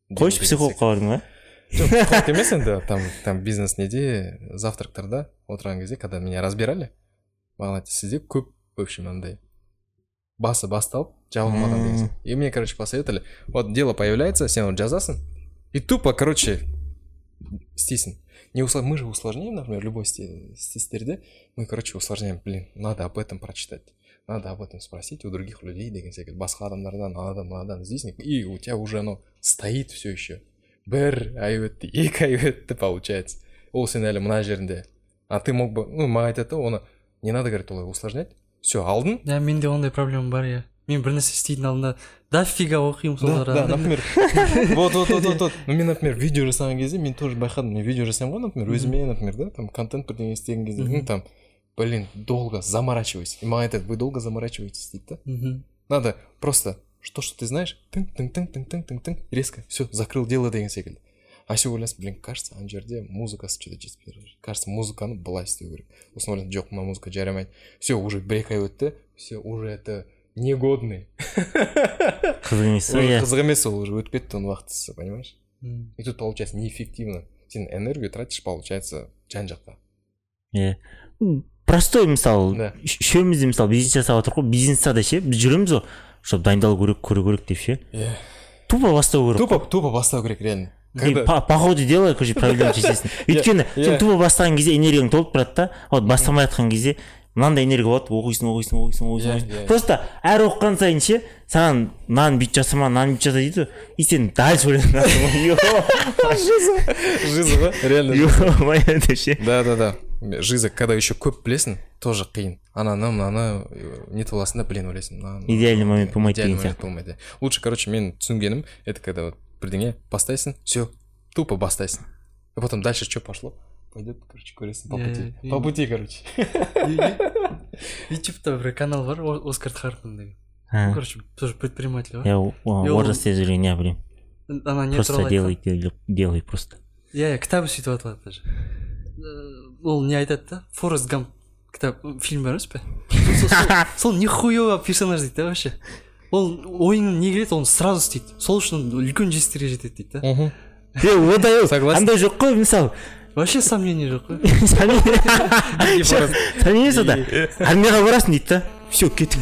қойшы психологқа бардың ба? Жоқ, психолог емес енді, там, там бизнес неде, завтрактарда отырған кезде, когда меня разбирали, маған айтты, сізде көп, в общем, андай, басы басталып, жабылмаған деген сияқты. И мне, короче, посоветовали, вот дело появляется, сен оны жазасың, и тупо, короче, істейсің. Не услов... Мы же усложняем, например, любой стестерде, мы, короче, усложняем, блин, надо об этом прочитать, надо об этом спросить у других людей, деген секілді, басқа адамдардан, анадан, мынадан іздейсің, и у тебя уже оно стоит все еще. Бір ай өтті, екі ай өтті, получается. Ол сен әлі мына жерінде. А ты мог бы, ну, маған айтады, оны не надо, говорит, олай усложнять. Все, алдың. Да, менде ондай проблема бар, иә. Мен бір нәрсе істейтін алдында дофига оқимын сол да, да, например, вот, вот, вот, вот, вот. Ну, мен, например, видео жасаған кезде, мен тоже байқадым, мен видео жасаймын ғой, например, өзіме, например, да, там, контент бірдеңе істеген кезде, ну, там, блин, долго заморачивайся. И маған айтады, вы долго заморачиваетесь, дейді да. Надо просто, что, что ты знаешь, тың-тың-тың-тың-тың-тың, резко, все, закрыл дело деген секілді. А все ойлайсың, блин, кажется, ана жерде музыкасы что-то жетіспей жатыр. Кажется, музыканы былай істеу керек. Сосын ойлайсың, жоқ, мына музыка жарамайды. Все, уже бір-екі ай өтті, все, уже это негодный. Қызық емес, иә. Қызық емес, ол уже өтіп кетті оның уақытысы, понимаешь? И тут получается неэффективно. Сен энергию тратишь, получается, жан-жаққа. Иә. Простой мысал, үшеумізде мысал бизнес жасап отыр ғой, бизнесте ше, біз жүреміз ғой, чтобы дайындалу керек, көру керек деп ше. Иә. Тупо бастау керек. Тупо, тупо бастау керек, реально. По, по ходу дела, короче, проблема шешесің. Өйткені сен тупо бастаған кезде энергияң толып тұрады да, вот бастамай жатқан кезде мынандай энергия болады, оқисың, оқисың, оқисың, оқисың. Просто әр оқыған сайын ше, саған мынаны бүйт жасама, мынаны бүйт жаса дейді, и сен дальше ойланасың. Жиза ғой, реально. Ё-моё, ше. Да, да, да. Жиза, когда еще көп білесің, тоже қиын. Ананы, мынаны не толасында, блин, ойлайсың. Идеальный момент болмайды деген сияқты. Идеальный момент болмайды. Лучше, короче, мен түсінгенім, это когда вот бірдеңе бастайсың, все, тупо бастайсың. И потом дальше что пошло? Пойдет, короче, көресің по пути. По пути, короче. Ютубта бір канал бар, Оскар Харпман деген. Короче, тоже предприниматель бар. Я орыс сөздерін не білем. Просто делай, делай просто. Я кітабы сөйтіп атылады даже. Ол не айтады да? Форест Гамп кітап, фильм бар емес пе? Сол нихуево персонаж дейді да вообще. Ол ойыңын не келеді, оны сразу істейді. Сол үшін үлкен жетістіктерге жетеді дейді да. Е, одай ол, андай жоқ қой, мысалы. Вообще сомнение жоқ қой. Сомнение сода. Армияға барасың дейді да. Все, кеттік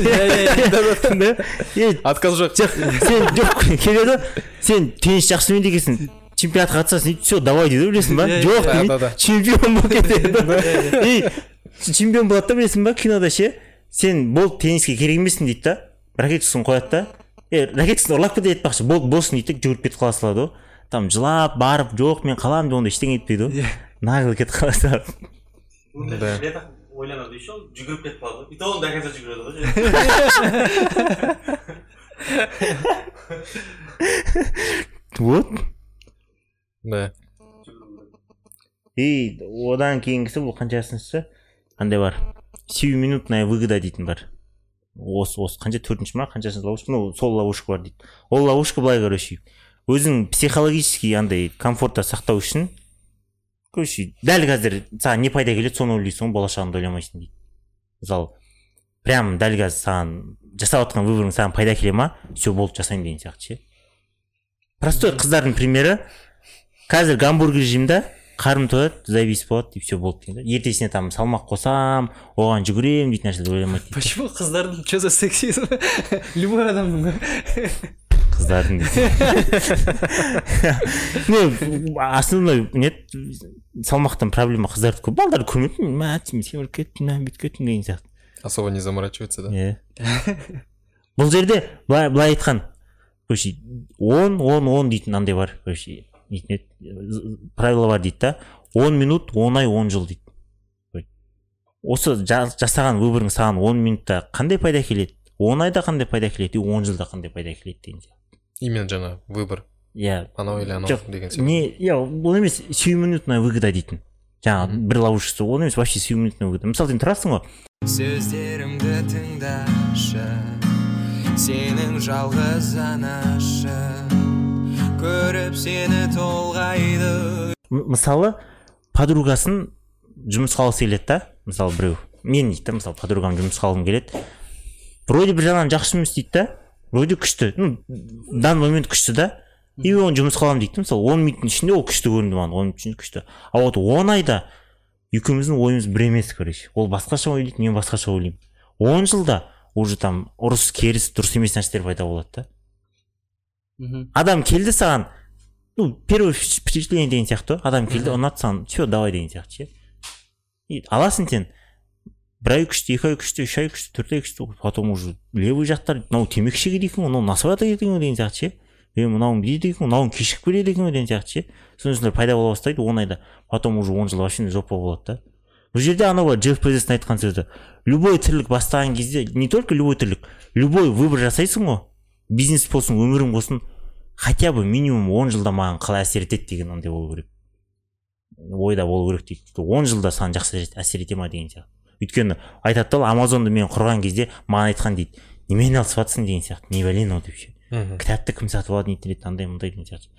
дейді. Отказ жоқ. Сен жоқ келеді, сен теннис жақсы ойнайды екенсің. Чемпионатқа қатысасың дейді, все, давай дейді, білесің ба? Жоқ дейді, чемпион болып кетеді. Чемпион болады да, білесің ба, кинода ше, сен бол тенниске керек емессің дейді да, ракеткасын қояды да, е, ракеткасын ұрлап кетеді етпақшы, бол болсын дейді, жүгіріп кетіп қала салады ғой. Там жылап, барып, жоқ, мен қаламын деп онда ештеңе етпейді ғой. Нағыл кетіп қала салады. Ойланады еще, жүгіріп кетіп қалады ғой. И то он до конца жүгіреді ғой. Вот. Да. И одан кейінгісі бұл қаншасыншы? Қандай бар? Сиюминутная выгода дейтін бар. Осы, осы, қанша төртінші ма, қаншасыншы ловушка? Ну, сол ловушка бар дейді. Ол ловушка былай, короче, өзің психологически андай комфортта сақтау үшін, короче, дәл қазір саған не пайда келеді, соны ойлайсың, болашағыңды ойламайсың дейді. Мысалы, прям дәл қазір саған жасап отқан выборың саған пайда келе ма, все болды, жасаймын деген сияқты ше. Простой қыздардың примері, қазір гамбургер жеймін да, қарым тояды, завис болады, и все болды дейді. Ертесіне там салмақ қосам, оған жүгірем дейтін нәрселер ойламайды. Почему қыздардың что за сексизм? Любой адамның. Қыздардың не, основной нет, салмақтан проблема қыздарды көп, балдарды көрмеппін, мәтім, семіріп кеттім, бүйтіп кеттім деген сияқты. Особо не заморачивается, да? Иә. Бұл жерде былай айтқан, короче, он, он, он дейтін андай бар, короче, правила бар дейді да, он минут, он ай, он жыл дейді. Осы жасаған выборың саған он минутта қандай пайда келеді, он айда қандай пайда келеді, и он жылда қандай пайда келеді деген сияқты. Именно жаңа выбор. Иә. Анау или анау деген сияқты. Не, иә, бұл емес сиюминутная выгода дейтін. Жаңа бір ловушкасы, ол емес вообще сиюминутная выгода. Мысалы, сен тұрасың ғой. Сөздерімді тыңдашы, сенің жалғыз анашы, көріп сені толғайды. Мысалы, подругасын жұмысқа алғысы келеді да, мысалы біреу. Мен дейді, мысалы, подругам жұмысқа алғым келеді. Вроде бір жағынан жақсы жұмыс істейді да, вроде күшті. Ну, данный момент күшті да, и оны жұмысқа аламын дейді. Мысалы он минуттың ішінде ол күшті көрінді маған, он минуттың ішінде күшті. А вот он айда екеуміздің ойымыз бір емес, короче. Ол басқаша ойлайды, мен басқаша ойлаймын. он жылда уже там ұрыс керіс дұрыс емес нәрселер пайда болады да. Адам келді саған, ну первое впечатление деген сияқты, адам келді ұнады саған, все давай деген сияқты ше. И аласың сен бір ай күшті, екі ай күшті, үш ай күшті, төрт ай күшті, потом уже левый жақтар, мынау темекі шегеді екен, мынау насыбата екен деген сияқты ше. Е мынауың дейді екен, мынауың кешігіп келеді екен деген сияқты ше. Сондайлар пайда бола бастайды он айда. Потом уже он жыл вообще жопа болады да. Бұл жерде анау бар Джефф Безостың айтқан сөзі. Любой тірлік бастаған кезде, не только любой тірлік, любой выбор жасайсың ғой, бизнес болсын, өмірің болсын, хотя бы минимум он жылда маған қалай әсер етеді деген андай болу керек. Ойда болу керек дейді. он жылда саған жақсы әсер ете ма деген сияқты. Өйткені айтады да, Амазонды мен құрған кезде маған айтқан дейді, немен алысып жатсың деген сияқты, не бәлен ол деп ше. Кітапты кім сатып алады, не етеді, андай мындай деген сияқты.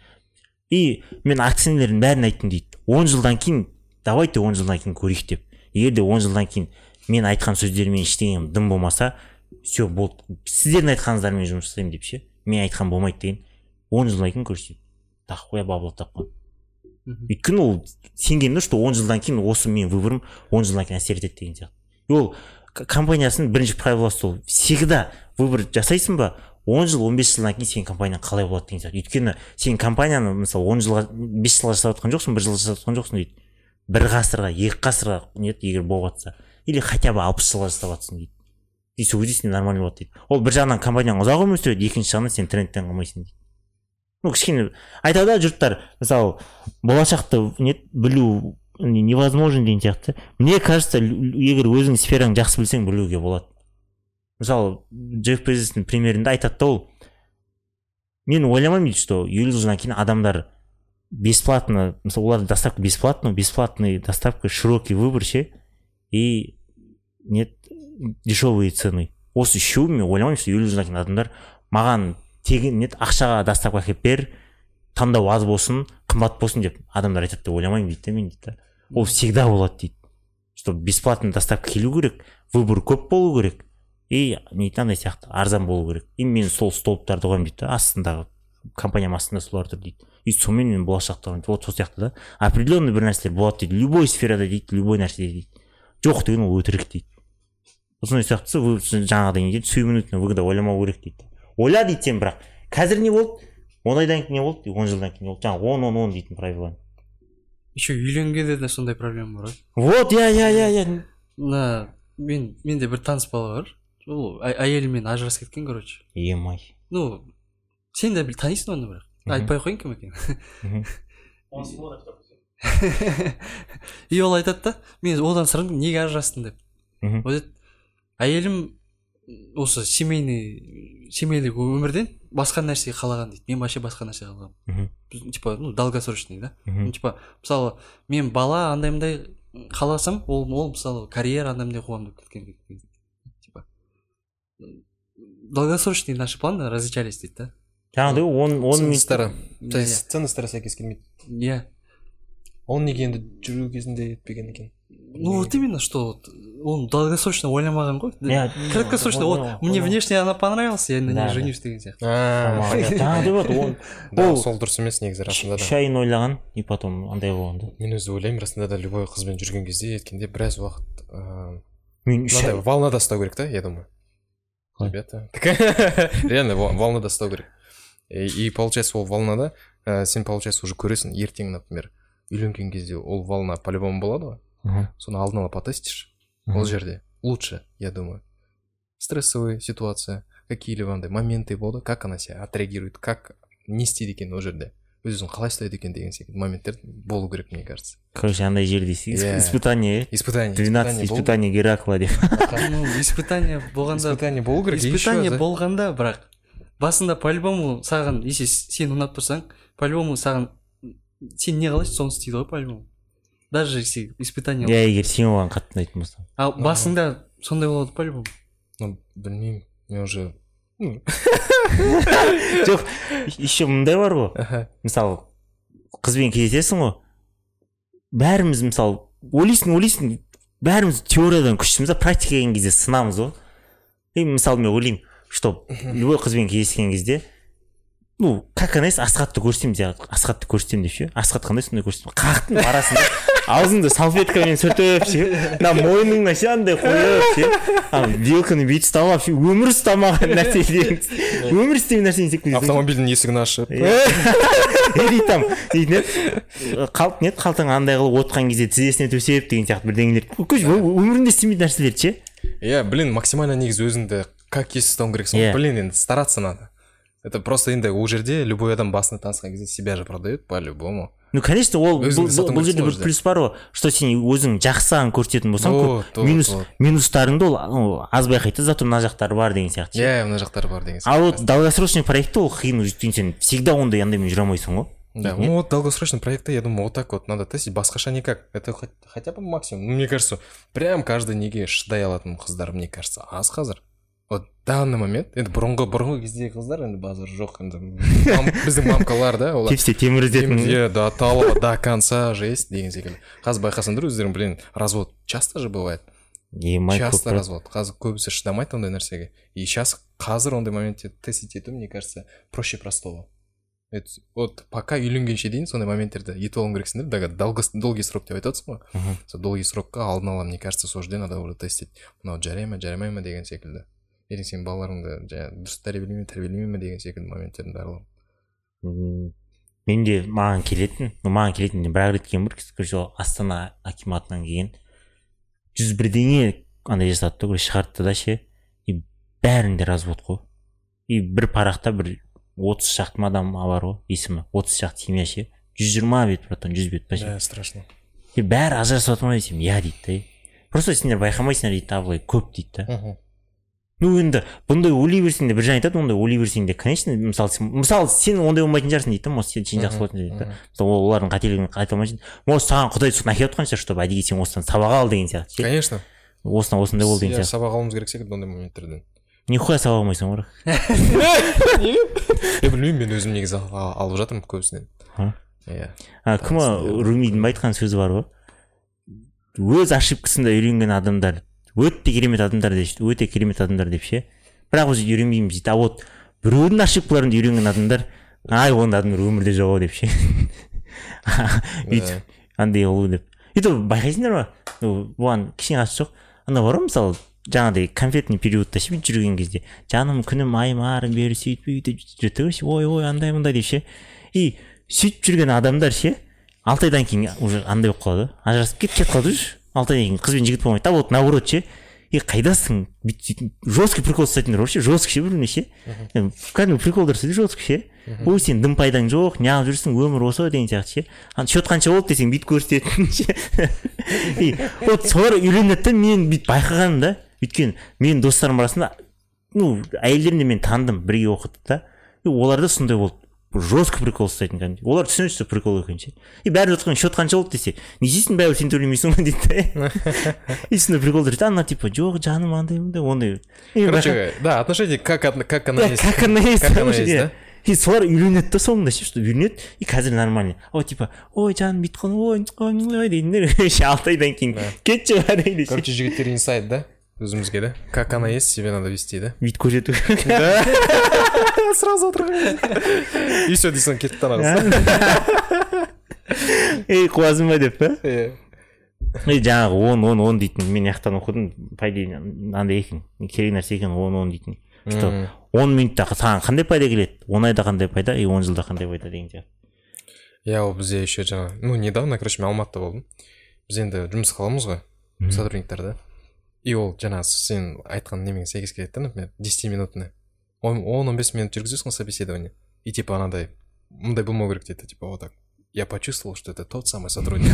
И мен акционерлердің бәрін айттым дейді. он жылдан кейін, давайте он жылдан кейін көрейік деп. Егер де он жылдан кейін мен айтқан сөздермен ештеңем дым болмаса, все болды. Сіздердің айтқаныңыздармен жұмыс жасаймын деп ше. Мен айтқан болмайды деген. он жылдан кейін көрсек. Так қоя бабло тапқан. Өйткені ол сенгенде, что он жылдан кейін осы мен выборым он жылдан кейін әсер етеді деген сияқты. И ол компаниясының бірінші правиласы сол. Всегда выбор жасайсың ба, он жыл, он бес жылдан кейін сен компанияң қалай болады деген сияқты. Өйткені сен компанияны мысалы он жылға, бес жылға жасап отқан жоқсың, бір жылға жасап отқан жоқсың дейді. Бір ғасырға, екі ғасырға нет, егер болып жатса, или хотя бы алпыс жылға жасап жатсың дейді. И сол кезде сен нормально болады дейді. Ол бір жағынан компанияң ұзақ өмір сүреді, екінші жағынан сен трендтен қалмайсың дейді. Ну кішкене айтады жұрттар, мысалы болашақты нет білу невозможно деген сияқты. Мне кажется, егер өзің сфераң жақсы білсең, білуге болады. Мысалы Джефф Безостың примерінде айтады да ол, мен ойламаймын дейді, что елу жылдан кейін адамдар бесплатно, мысалы олардың доставка бесплатно, бесплатный доставка, широкий выбор ше, и нет дешевые цены. Осы үшеуі мен ойламаймын, что елу жылдан кейін адамдар маған тегін нет ақшаға доставка әкеліп бер, таңдау аз болсын, қымбат болсын деп адамдар айтады деп ойламаймын дейді мен дейді. Ол всегда болады дейді. Что бесплатный доставка келу керек, выбор көп болу керек, и андай сияқты арзан болу керек. И мен сол столбтарды қоямын дейді, астындағы компаниям астында солар тұр дейді. И сонымен мен болашақта вот сол сияқты да. Определенный бір нәрселер болады дейді. Любой сферада дейді, любой нәрседе дейді. Жоқ деген ол өтірік дейді. Осындай сияқтысы жаңағыдай не дейді, сүймінутно выгода ойламау керек дейді. Ойла дейді сен, бірақ қазір не болды, он айдан кейін не болды, он жылдан кейін не болды. Жаңағы он он он дейтін правила. Еще үйленгенде де сондай проблема бар. Вот, я я я я. На мен менде бір таныс бала бар. Ол әйелімен ажырасып кеткен, короче. Емай. Ну, сен де танисың оны, бірақ айтпай ақ қояйын кім екенін. И ол айтады да, мен одан сұрадым, неге ажырастың деп. Ол айтады, әйелім осы семейный семейлік өмірден басқа нәрсе қалаған дейді. Мен вообще басқа нәрсе қалағанмын. Типа, ну, долгосрочный, да? Типа, мысалы, мен бала андай-мындай қаласам, ол ол мысалы карьера андай-мындай қуамын деп кеткен. Типа, долгосрочный наши планы различались дейді да. Жаңағыдай он он ценностары, то есть ценностары сәйкес келмейді. Иә. Ол неге енді жүру кезінде етпеген екен? Ну вот именно, что он долгосрочно ойламаған ғой. Краткосрочно, вот мне внешне она понравилась, я на ней женюсь деген сияқты. Жаңағыдай вот он ол сол дұрыс емес негізі расында да. Үш айын ойлаған, и потом андай болған да. Мен өзі ойлаймын, расында да любой қызбен жүрген кезде еткенде біраз уақыт мен үш ай волнада ұстау керек та, я думаю. Ребята, реально волнада ұстау керек. И получается ол волнада сен получается уже көресің, ертең, например, үйленген кезде ол волна по-любому болады ғой. Соны алдын ала потестишь. Ол жерде лучше, я думаю. Стрессовая ситуация, какие-либо андай моменты болды, как она себя отреагирует, как не істейді екен ол жерде. Өзін қалай ұстайды екен деген секілді моменттер болу керек, мне кажется. Короче, андай жерде испытание. Испытание. двенадцать испытаний Геракла деп. Ну, испытание болғанда. Испытание болу керек. Испытание болғанда, бірақ басында по-любому саған, если сен ұнап тұрсаң, по-любому саған сен не қалайсың, соны істейді ғой по-любому. Даже если испытание. Я егер сен оған қатты ұнайтын болсам. А басында сондай болады по-любому. Ну, білмеймін, мен уже жоқ, еще мындай бар ғой. Мысалы, қызбен кездесесің ғой, бәріміз мысалы ойлайсың, ойлайсың, бәріміз теориядан күштіміз, практика келген кезде сынамыз ғой. И мысалы мен ойлаймын, что любой қызбен кездескен кезде ну как анализ асхатты көрсетемін де асхатты көрсетемін деп ше асхат қандай сондай көрсетемін қақтың арасында аузыңды салфеткамен сүртіп ше мына мойныңа ше андай қойып ше вилканы бүйтіп ұстап ше өмір ұстамаған нәрселерін өмір істеген нәрсені істеп кетесің автомобильдің есігін ашып там қалт нет қалтаңа андай қылып отқан кезде тізесіне төсеп деген сияқты бірдеңелер көш өмірінде істемейтін нәрселер ше иә блин максимально негізі өзіңді как есть ұстауың керексің блин енді стараться надо. Это просто енді ол жерде любой адам басына танысқан кезде себя же продает по-любому. Ну, конечно, ол бұл жерде бір плюс бар ғой, что сен өзің жақсыған көрсететін болсаң, минус минустарыңды ол аз байқайды, зато мына жақтары бар деген сияқты. Иә, мына жақтары бар деген сияқты. А вот долгосрочный проектте ол қиын, өйткені сен всегда ондай андаймен жүре алмайсың ғой. Да, ну вот долгосрочный проект, я думаю, вот так вот надо тестить, басқаша никак. Это хотя бы максимум. Мне кажется, прям каждый неге шыдай алатын қыздар, мне кажется, аз қазір. Вот данный момент, енді бұрынғы бұрынғы кездегі қыздар енді базар жоқ енді біздің мамкалар да олар тепсе темір іздетін иә до талого до конца жесть деген секілді. Қазір байқасаңдар өздерің блин развод часто же бывает. Часто развод. Қазір көбісі шыдамайды ондай нәрсеге. И сейчас қазір ондай моментте тестить ету, мне кажется, проще простого. Вот пока үйленгенше дейін сондай моменттерді етіп алуың керексіңдер. Долгий срок деп айтасың ғой. Сол долгий срокқа алдын ала, мне кажется, сол жерде надо уже тестить. Мынау жарай ма, жарамай ма деген секілді. Ертең сен балаларыңды дұрыс тәрбиелей ме, тәрбиелемей ме деген секілді моменттердің барлығы. Менде маған келетін, маған келетін бір-ақ рет келген бір сол Астана акиматынан келген жүз бірдеңе андай жасады да, шығартты да ше, и бәрінде развод қой. И бір парақта бір отыз шақты адам бар ғой, есімі отыз шақты семья ше, жүз жиырма бет братан, жүз бет па ше. Да, страшно. И бәрі ажырасып жатыр ма десем, иә дейді да. Просто сендер байқамайсыңдар дейді, абылай көп дейді да. Ну енді бұндай ойлай берсең де бір жан айтады, ондай ойлай берсең де, конечно, мысалы мысалы сен ондай болмайтын шығарсың дейді да, может сен жақсы болатын дейді да. Мысалы олардың қателігін айта алмайсың. Может саған Құдай соны әкеліп отқан шығар, чтобы әдейі сен осыдан сабақ ал деген сияқты. Конечно. Осыдан осындай бол деген сияқты. Сабақ алуымыз керек секілді ондай моменттерден. Нихуя сабақ алмайсың ғой. Я білмеймін, мен өзім негізі алып жатырмын көбісінен. Иә. Кім Румидің айтқан сөзі бар ғой. Өз ошибкасында үйренген адамдар өте керемет адамдар дейді, өте керемет адамдар деп ше. Бірақ біз үйренбейміз дейді. А вот біреудің ошибкаларында үйренген адамдар, ай ондай адамдар өмірде жоқ деп ше. Өйтіп андай болу деп. Өйтіп байқайсыңдар ма? Бұған кішкене қатысы жоқ. Анда бар ғой мысалы жаңағыдай конфетный периодта ше жүрген кезде, жаным күнім айым арым бері сөйтіп өйтіп жүреді ше, ой ой андай мындай деп ше. И сөйтіп жүрген адамдар ше, алты айдан кейін уже андай болып қалады, ажырасып кетіп кетіп қалады уже. Алты айдан кейін қыз бен жігіт болмайды. А вот наоборот ше, и қайдасың? Жесткий прикол ұстайтындар вообще, жесткий ше біреуіне ше. Кәдімгі приколдар істейді жесткий ше. Ой сен дым пайдаң жоқ, неғып жүрсің, өмір осы деген сияқты ше. Счет қанша болды десең бүйтіп көрсететін ше. И вот солар үйленеді да, мен бүйтіп байқағаным да. Өйткені менің достарым арасында, ну әйелдерін де мен таныдым, бірге оқыдық та. И оларда сондай болды. Жестко прикол ұстайтын кәдімгі. Олар түсінеді, что прикол екен ше. И бәрі жатқан счет қанша болды десе, не істейсің бәрібір сен төлемейсің ба дейді. И сондай приколдар дейді, ана типа жоқ жаным андай мындай ондай. Короче, да, отношение как как она есть. Как она есть, да. И солар үйленеді да соңында ше, что үйленеді, и қазір нормально. Ой типа, ой жаным бүйтіп қалдым, ой ой дейдіндер. Ше алты айдан кейін кетші бәрі. Короче, жігіттер инсайт да өзімізге да. Как она есть, себе надо вести, да? Бүйтіп көрсету. Да. Сразу отырған. И все дейсің кетіп танағыз. Ей қуасың ба деп па? Ей жаңағы он он он дейтін, мен яқтан оқыдым, пайда андай екен, керек нәрсе екен он он дейтін. Что он минутта саған қандай пайда келеді, он айда қандай пайда, и он жылда қандай пайда деген сияқты. Я ол бізде еще жаңа, ну недавно, короче, мен Алматыда болдым. Біз енді жұмыс қыламыз ғой, сотрудниктар да. И ол жаңа сен айтқан немен сәйкес келеді да, например, десять минутный. он он бес минут жүргізесің собеседование. И типа анадай, мындай болмау керек дейді, типа вот так. Я почувствовал, что это тот самый сотрудник.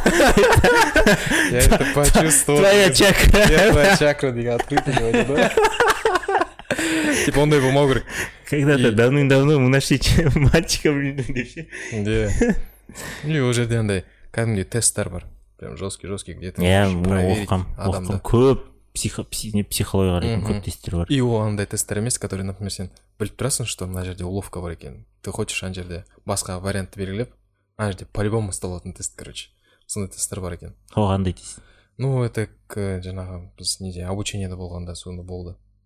Я это почувствовал. Твоя чакра. Я твоя чакра деген открыто говорит, да? Типа ондай болмау керек. Когда-то давным-давно мы нашли мальчика деп ше. Да. Или ол жерде андай кәдімгідей тесттер бар. Прям жесткий-жесткий где-то. Иә, оқым, оқым көп. Психология қарайтын көп тесттер бар. И ол андай тесттер емес, которые, например, сен біліп тұрасың, что мына жерде уловка бар екен. Ты хочешь ана жерде басқа вариантты белгілеп, ана жерде по-любому ұсталатын тест, короче. Сондай тесттер бар екен. Қандай тест? Ну, это жаңағы біз неде обучениеда болғанда сонда болды.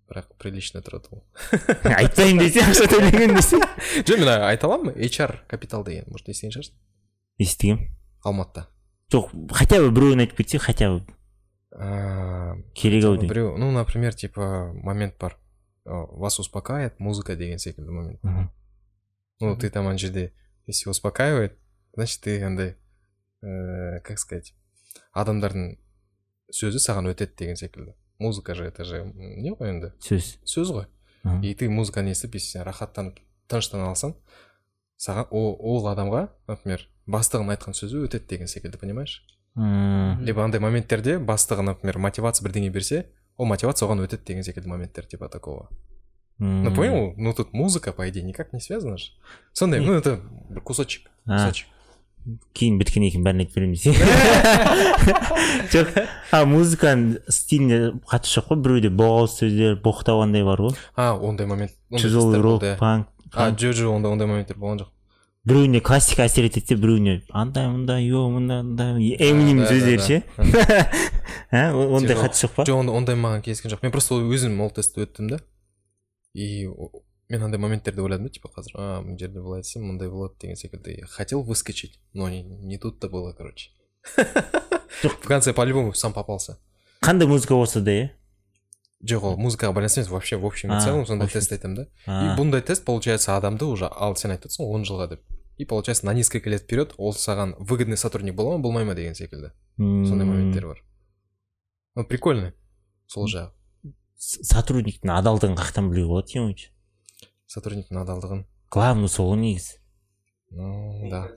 бірақ прилично тұрады ол. Айтпаймын десе ақша төлеген десе. Жоқ, мен айта аламын, эйч ар Capital деген, может естіген шығарсың? Естігем. Алматыда. Жоқ, хотя бы біреуін айтып кетсе, хотя бы керек ау деймін. Біреу, ну, например, типа момент бар. Вас успокаивает музыка деген секілді момент. Ну, ты там ана жерде, если успокаивает, значит, ты андай, как сказать, адамдардың сөзі саған өтеді деген секілді. Музыка же, это же не ғой енді? Сөз. Сөз ғой. И ты музыканы естіп, если сен рахаттанып, тыныштана алсаң, саған ол адамға, например, бастығын айтқан сөзі өтеді деген секілді, понимаешь? Либо андай моменттерде бастығы, например, мотивация бірдеңе берсе, ол мотивация оған өтеді деген секілді моменттер, типа такого. Ну, понял? Ну, тут музыка, по идее, никак не связана же. Сондай, ну, это кусочек. Кусочек. Кейін біткен екен бәрін айтып беремін десе. Жоқ, а музыканың стиліне қатысы жоқ қой, біреуде боғауыз сөздер, боқтауандай бар ғой. А, ондай момент. Тяжелый рок, панк. А, жо-жо, ондай ондай моменттер болған жоқ. Біреуіне классика әсер етеді, біреуіне андай мындай, йо мындай, мындай, Эминем сөздері ше. Ондай қатысы жоқ па? Жоқ, ондай маған кезген жоқ. Мен просто өзім ол тестті өттім да. И мен андай моменттерді ойладым да, типа қазір, а, мына жерде былай айтсам, мындай болады деген секілді. Хотел выскочить, но не, не тут-то было, короче. В конце по-любому сам попался. Қандай музыка болса да, е? Жоқ, ол музыкаға байланысты емес, вообще в общем и целом сондай тест айтам да. И бұндай тест, получается, адамды уже, ал сен айтыпсың он жылға деп. И получается, на несколько лет вперед ол саған выгодный сотрудник бола ма, болмай ма деген секілді. Сондай моменттер бар. Ну, прикольно. Сол жағы. Сотрудниктің адалдығын қақтан білуге болады, ең ойыншы. Сотрудниктің адалдығын. Главный сол негізі. Ну, да.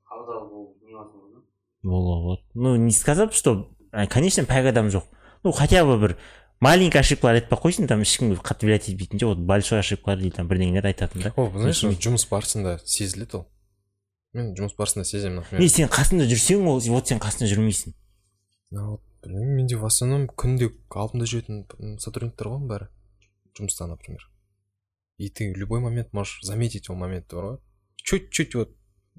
Вот. Ну, не сказать, что, конечно, пәк адам жоқ. Ну, хотя бы бір маленький ошибкалар айтпай қойсын, там ешкім қатты білет етпейтін, вот большой ошибкалар дейді, там бірдеңелер айтатын да. О, знаешь, жұмыс барысында сезіледі ол. Мен жұмыс барысында сеземін, например. Не, сен қасында жүрсең, ол, вот сен қасында жүрмейсің. Вот, білмеймін, менде в основном күнде алдымда жүретін сотрудниктер ғой бәрі. Жұмыста, например. И ты в любой момент можешь заметить ол моментті бар ғой. Чуть-чуть вот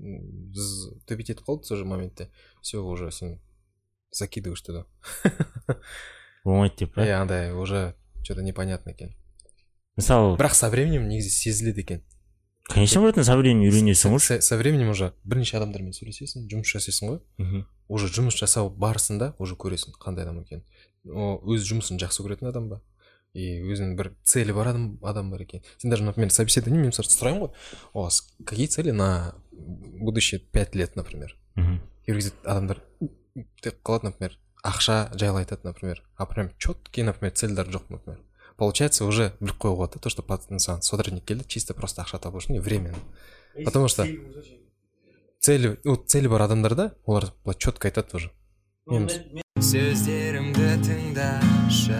төбет етіп қалды сол же моментте. Все, уже сен закидываешь туда. Болмайды деп, иә, андай уже что-то непонятно екен. Мысалы, бірақ со временем негізі сезіледі екен. Конечно, братан, со временем үйренесің ғой. Со временем уже бірнеше адамдармен сөйлесесің, жұмыс жасайсың ғой. Уже жұмыс жасау барысында уже көресің қандай адам екен. Өз жұмысын жақсы көретін адам ба? И өзінің бір цели бар адам, адам бар екен. Сен даже, например, собеседование, мен мысалы сұраймын ғой, у вас какие цели на будущие пять лет, например? И адамдар тек қалады, например, ақша жайлы айтады, например. А прям четкие, например, цельдар жоқ, например. Получается, уже біліп қойға болады, то, что сотрудник келді, чисто просто ақша табу үшін, временно. Потому что цели, ну, цели бар адамдарда, олар четко айтады уже. Сөздерімді тыңдашы,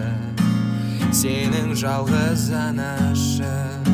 сенің жалғыз анашы,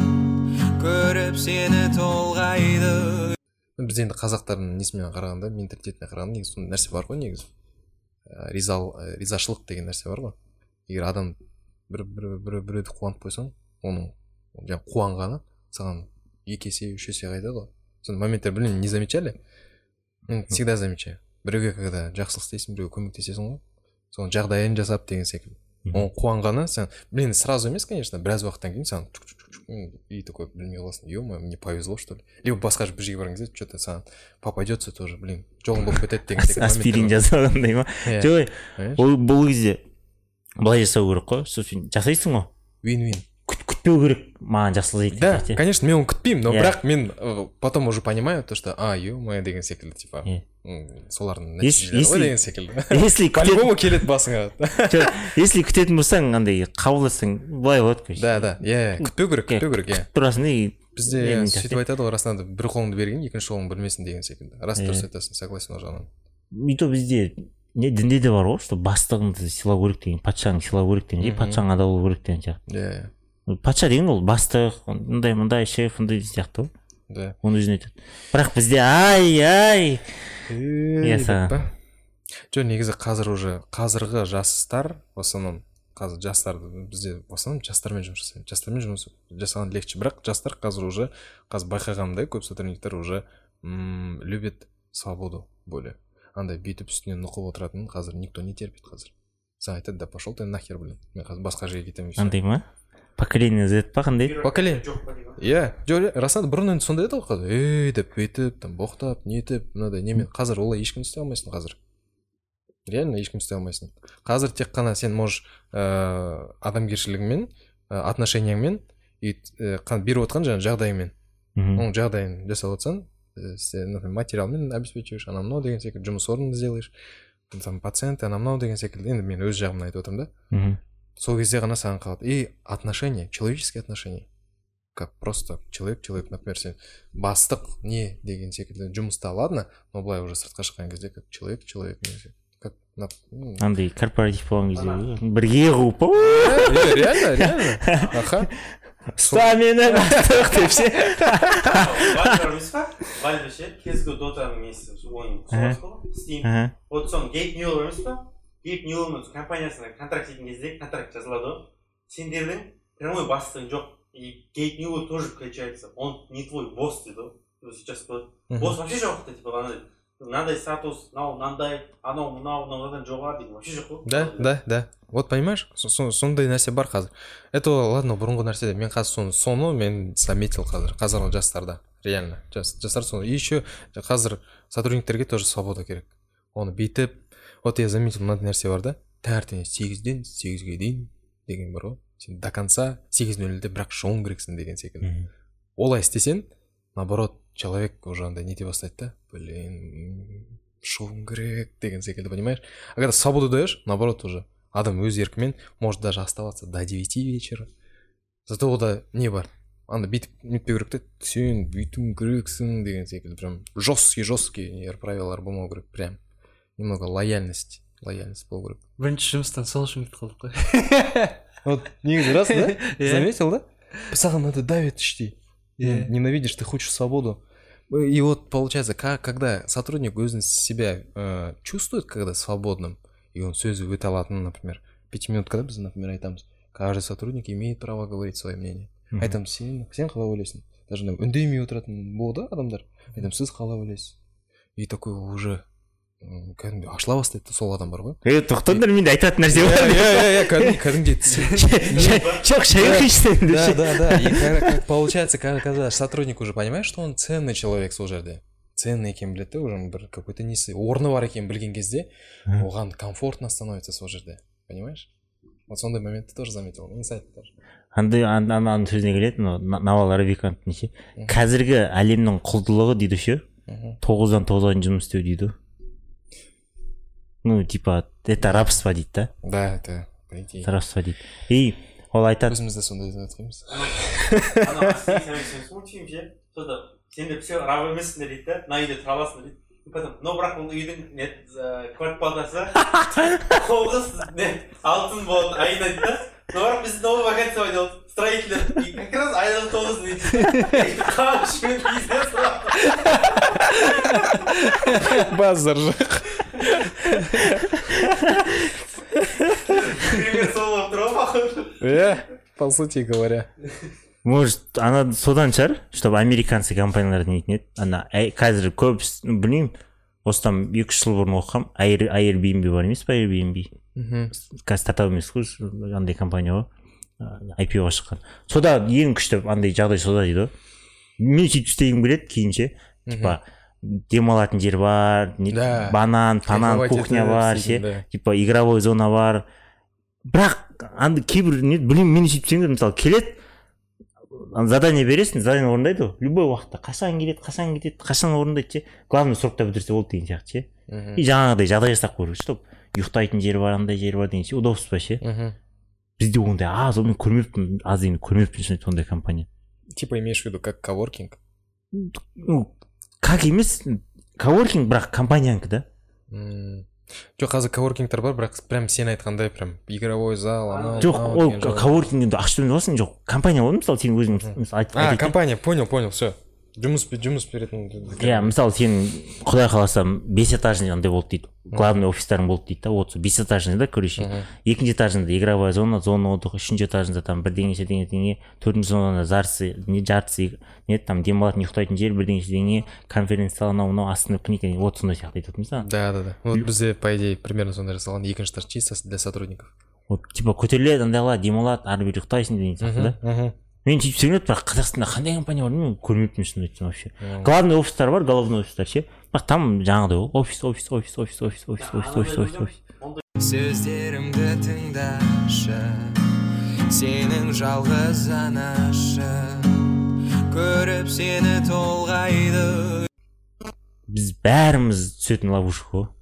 көріп сені толғайды. Біз енді қазақтардың несімен қарағанда, менталитетіне қарағанда, негізі сондай нәрсе бар ғой, негізі. Ризал, ризашылық деген нәрсе бар ғой. Егер адам бір-біреуді қуанып қойсаң, оның қуанғаны саған екі есе, үш есе қайтады ғой. Сондай моменттер, блин, не замечали? Мен всегда замечаю. Біреуге когда жақсылық істейсің, біреуге көмектесесің ғой, соның жағдайын жасап деген секілді. Оның қуанғаны сен, блин, сразу емес, конечно, біраз уақыттан кейін саған и такой, блин, қаласың, ё-моё, мне повезло, что ли. Либо басқа бір жерге барған кезде, что-то саған попадется тоже, блин, жолың болып кетеді деген секілді. Аспирин жасағандай ма? Жоқ, ол бұл кезде былай жасау керек қой, сосын жасайсың ғой. Вин-вин. Күтпеу керек, маған жақсылық етеді. Да, конечно, мен оны күтпеймін, но бірақ мен потом уже понимаю то, что, а, ё-моё деген секілді, типа, солардың нәтижелері ғой деген секілді. По-любому келеді басыңа. Если күтетін болсаң, андай қабылдасаң, былай болады, конечно. Да, да, иә, күтпеу керек, күтпеу керек, иә. Күтіп тұрасың, и бізде сөйтіп айтады ғой, расында бір қолыңды берген, екінші қолың білмесін деген секілді. Рас дұрыс айтасың, согласен ол жағынан. И то бізде не дінде де бар ғой, что бастығыңды сыйлау керек деген, патшаңды сыйлау керек деген, патшаң адал болу керек деген сияқты. Иә. Патша деген ол бастық, мындай мындай шеф, мындай сияқты ғой. Да. Оны өзіне айтады. Бірақ бізде ай-ай. Иә саған. Жоқ, негізі қазір уже қазіргі жастар, в основном қазір жастарды бізде в основном жастармен жұмыс жасаймын. Жастармен жұмыс жасаған легче. Бірақ жастар қазір уже қазір байқағандай көп сотрудниктер уже любят свободу более. Андай бүйтіп үстінен нұқып отыратын қазір никто не терпит қазір. Саған айтады, да пошел ты нахер, блин. Мен қазір басқа жерге кетемін. Андай ма? поколение Z па қандай? Поколение. Иә, жоқ, расында бұрын енді сондай еді ғой қазір. Ей деп бүйтіп, там боқтап, нетіп, мынадай немен. Қазір олай ешкім істей алмайсың қазір. Реально ешкім істей алмайсың. Қазір тек қана сен можешь адамгершілігіңмен, отношенияңмен и беріп отқан жаңағы жағдайыңмен. Оның жағдайын жасап отсаң, сен материалмен обеспечиваешь, ана мынау деген секілді жұмыс орнын сделаешь. Там пациент, ана мынау деген секілді. Енді мен өз жағымнан айтып отырмын да. Сол кезде ғана саған қалады. И отношения, человеческие отношения. Как просто человек-человек, например, сен бастық не деген секілді жұмыста, ладно, но былай уже сыртқа шыққан кезде как человек-человек. Как андай корпоратив болған кезде бірге қуып реально, реально. Аха. Ұста мені бастық деп ше. Вальдер емес па? Вальдер ше, кезгі дотаның несі, оның соғасы ғой, Steam. Вот соның Гейб Ньюэлл емес па? Гейб Ньюэллмен компаниясына контракт еткен кезде контракт жазылады ғой. Сендердің прямой бастығың жоқ. И Гейб Ньюэлл тоже включается. Он не твой босс, дейді. Сейчас босс вообще жоқ, типа, мынандай статус, мынау мынандай, анау мынау мынаудан жоғары деген вообще жоқ қой. Да, да, да. Вот понимаешь, сондай нәрсе бар қазір. Это ладно, бұрынғы нәрсе. Мен қазір соны соны мен заметил қазір. Қазіргі жастарда. Реально. Жастар соны. И еще қазір сотрудниктерге тоже свобода керек. Оны бүйтіп, вот я заметил, мынандай нәрсе бар да. Таңертең сегізден сегізге дейін деген бар ғой. Сен до конца сегіз нөл нөлде бірақ шығуың керексің деген секілді. Олай істесең, наоборот, человек уже андай нете бастайды да. Блин, шығуың керек деген секілді, понимаешь? А когда свободу даешь, наоборот уже адам өз еркімен может даже оставаться до девяти вечера. Зато ода не бар. Анда бүйтіп нетпеу керек те, сен бүйтуің керексің деген секілді. Прям жесткий жесткий правилалар болмау керек. Прям немного лояльность, лояльность болу керек. Бірінші жұмыстан сол үшін кетіп қалдық қой. Вот негізі рас, да? Заметил, да? Саған надо давит іштей. Ненавидишь, ты хочешь свободу. И вот получается, как, когда сотрудник өзін себя э, чувствует, когда свободным, и он сөзі өте алатын, например, пятиминуткада біз, например, айтамыз, каждый сотрудник имеет право говорить свое мнение. Айтамыз, сен, сен қалай ойлайсың? Даже үндемей отыратын болды адамдар. Айтамыз, сіз қалай ойлайсыз? И такой уже кәдімгі ашыла бастайды сол адам бар ғой. Е, тоқтаңдар, менде айтатын нәрсе бар. Иә, иә, кәдімгі жоқ, шай құйсын. Да, да, да. И как получается, когда сотрудник уже понимает, что он ценный человек сол жерде, ценный екенін біледі, уже бір какой-то несі орны бар екенін білген кезде, оған комфортно становится сол жерде. Понимаешь? Вот сондай моментті тоже заметил. Инсайт тоже. Андай ананың сөзіне келеді, Навал Рабиканттың ше. Қазіргі әлемнің құлдылығы дейді ше. тоғыздан тоғызға жұмыс істеу дейді. Ну, типа, это рабство дейді да. Да, это по идее. Рабство дейді. И ол айтады. Өзіміз де сондай айтқанбыз. Ана сен смутим ше. Сонда сендер все раб емессіңдер дейді да. Мына үйде тұра аласыңдар дейді. Потом, но бірақ бұл үйдің нет квартплатасы тоғыз алтын болады айына дейді да. Но бірақ біз новый вакансия ойналды. Строителер. И как раз айына тоғыз дейді. Қамшымен бизнес бар. Базар жоқ. Пример сол болып тұр ғой. Иә, по сути говоря. Может, ана содан шығар, чтобы американцы компанияларды нетін еді. Ана қазір көп, білмеймін, осыдан екі үш жыл бұрын оқығам, Airbnb бар емес па, Airbnb. Қазір стартап емес қой, андай компания ғой, ай пи оға шыққан. Сода ең күшті андай жағдай сода дейді ғой. Мен сөйтіп істегім келеді кейінше, типа демалатын жер бар, банан, панан, кухня бар, ше, типа игровой зона бар. Бірақ андай кейбір не білмеймін, мен сөйтіп істегім келеді, мысалы келеді, задание бересің, задание орындайды ғой. Любой уақытта қашан келеді, қашан кетеді, қашан орындайды ше. Главное срокта бітірсе болды деген сияқты ше. И жаңағыдай жағдай жасап қою керек, чтобы ұйықтайтын жер бар, андай жер бар деген ше, удобство ше. Бізде ондай аз, мен көрмеппін, аз енді көрмеппін сондай компания. Типа имеешь в виду как коворкинг? Ну, как емес, коворкинг бірақ компаниянікі да. Жоқ, қазір коворкингтер бар, бірақ прям сен айтқандай прям игровой зал, анау. Жоқ, ол коворкингді ашып аласың, жоқ, компания ғой, мысалы сен өзің А, компания, понял, понял, все. Жұмыс жұмыс беретін. Иә, мысалы сен құдай қаласа бес этажный андай болды дейді. Главный офистарың болды дейді да, вот бес этажный да, короче. Екінші этажында игровая зона, зона отдыха, үшінші этажында там бірдеңе бірдеңе бірдеңе, төртінші зонада жарысы, не жарысы, не там демалатын ұйықтайтын жер, бірдеңе бірдеңе, конференция анау мынау астында книга, вот сондай сияқты айтып отырмыз да. Да, да, да. Вот бізде по идее примерно сондай жасалған, екінші этаж чисто для сотрудников. вот типа көтеріледі андайлар демалады ары бері ұйықтайсың деген сияқты да. Мен сөйтіп сөйлеп бірақ қазақстанда қандай компания бар мен көрмеппін шынын айтсам вообще. Главный офистар бар, головной офистар ше. Бірақ там жаңағыдай ғой офис офис офис офис офис офис офис офис офис офис. Сөздерімді тыңдашы, сенің жалғыз анашы, көріп сені толғайды. Біз бәріміз түсетін ловушка ғой.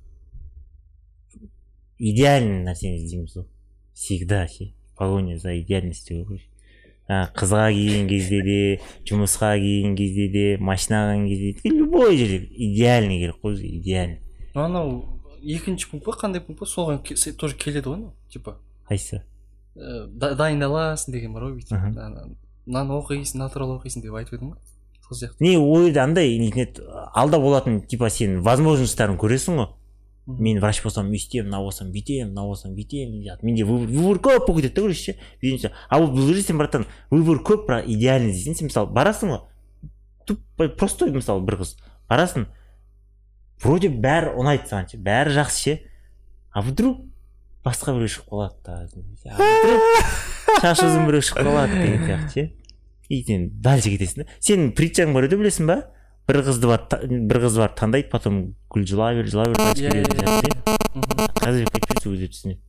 Идеальный нәрсені іздейміз ғой. Всегда ше. Погоня за идеальностью ғой. Қызға келген кезде де, жұмысқа келген кезде де, машинаға келген кезде де, любой жерде идеальный керек қой, идеальный. Анау екінші пункт па, қандай пункт па, соған тоже келеді ғой, типа. Қайсы? Дайындаласың деген бар ғой, мынаны оқисың, натурал оқисың деп айтып едім ғой. Сол сияқты. Не, ой, андай интернет алда болатын, типа сен возможностьтарын көресің ғой. Мен врач болсам өйстем, мына болсам бүйтем, мына болсам бүйтем. Менде выбор көп болып кетеді да, көресің ше. А бұл жерде сен братан выбор көп, бірақ идеальный дейсің. Сен мысалы барасың ғой, туп простой мысалы бір қыз барасың, вроде бәрі ұнайды саған ше, бәрі жақсы ше. А вдруг басқа біреу шығып қалады да. Шаш ұзын біреу шығып қалады деген сияқты ше. И сен дальше кетесің да. Сенің притчаң бар еді білесің ба? Бір қызды бар, бір қыз бар таңдайды, потом гүл жылай бер, жылай бер, қайтып келеді сияқты. Қазір кетпейді, сол кезде түсінеді.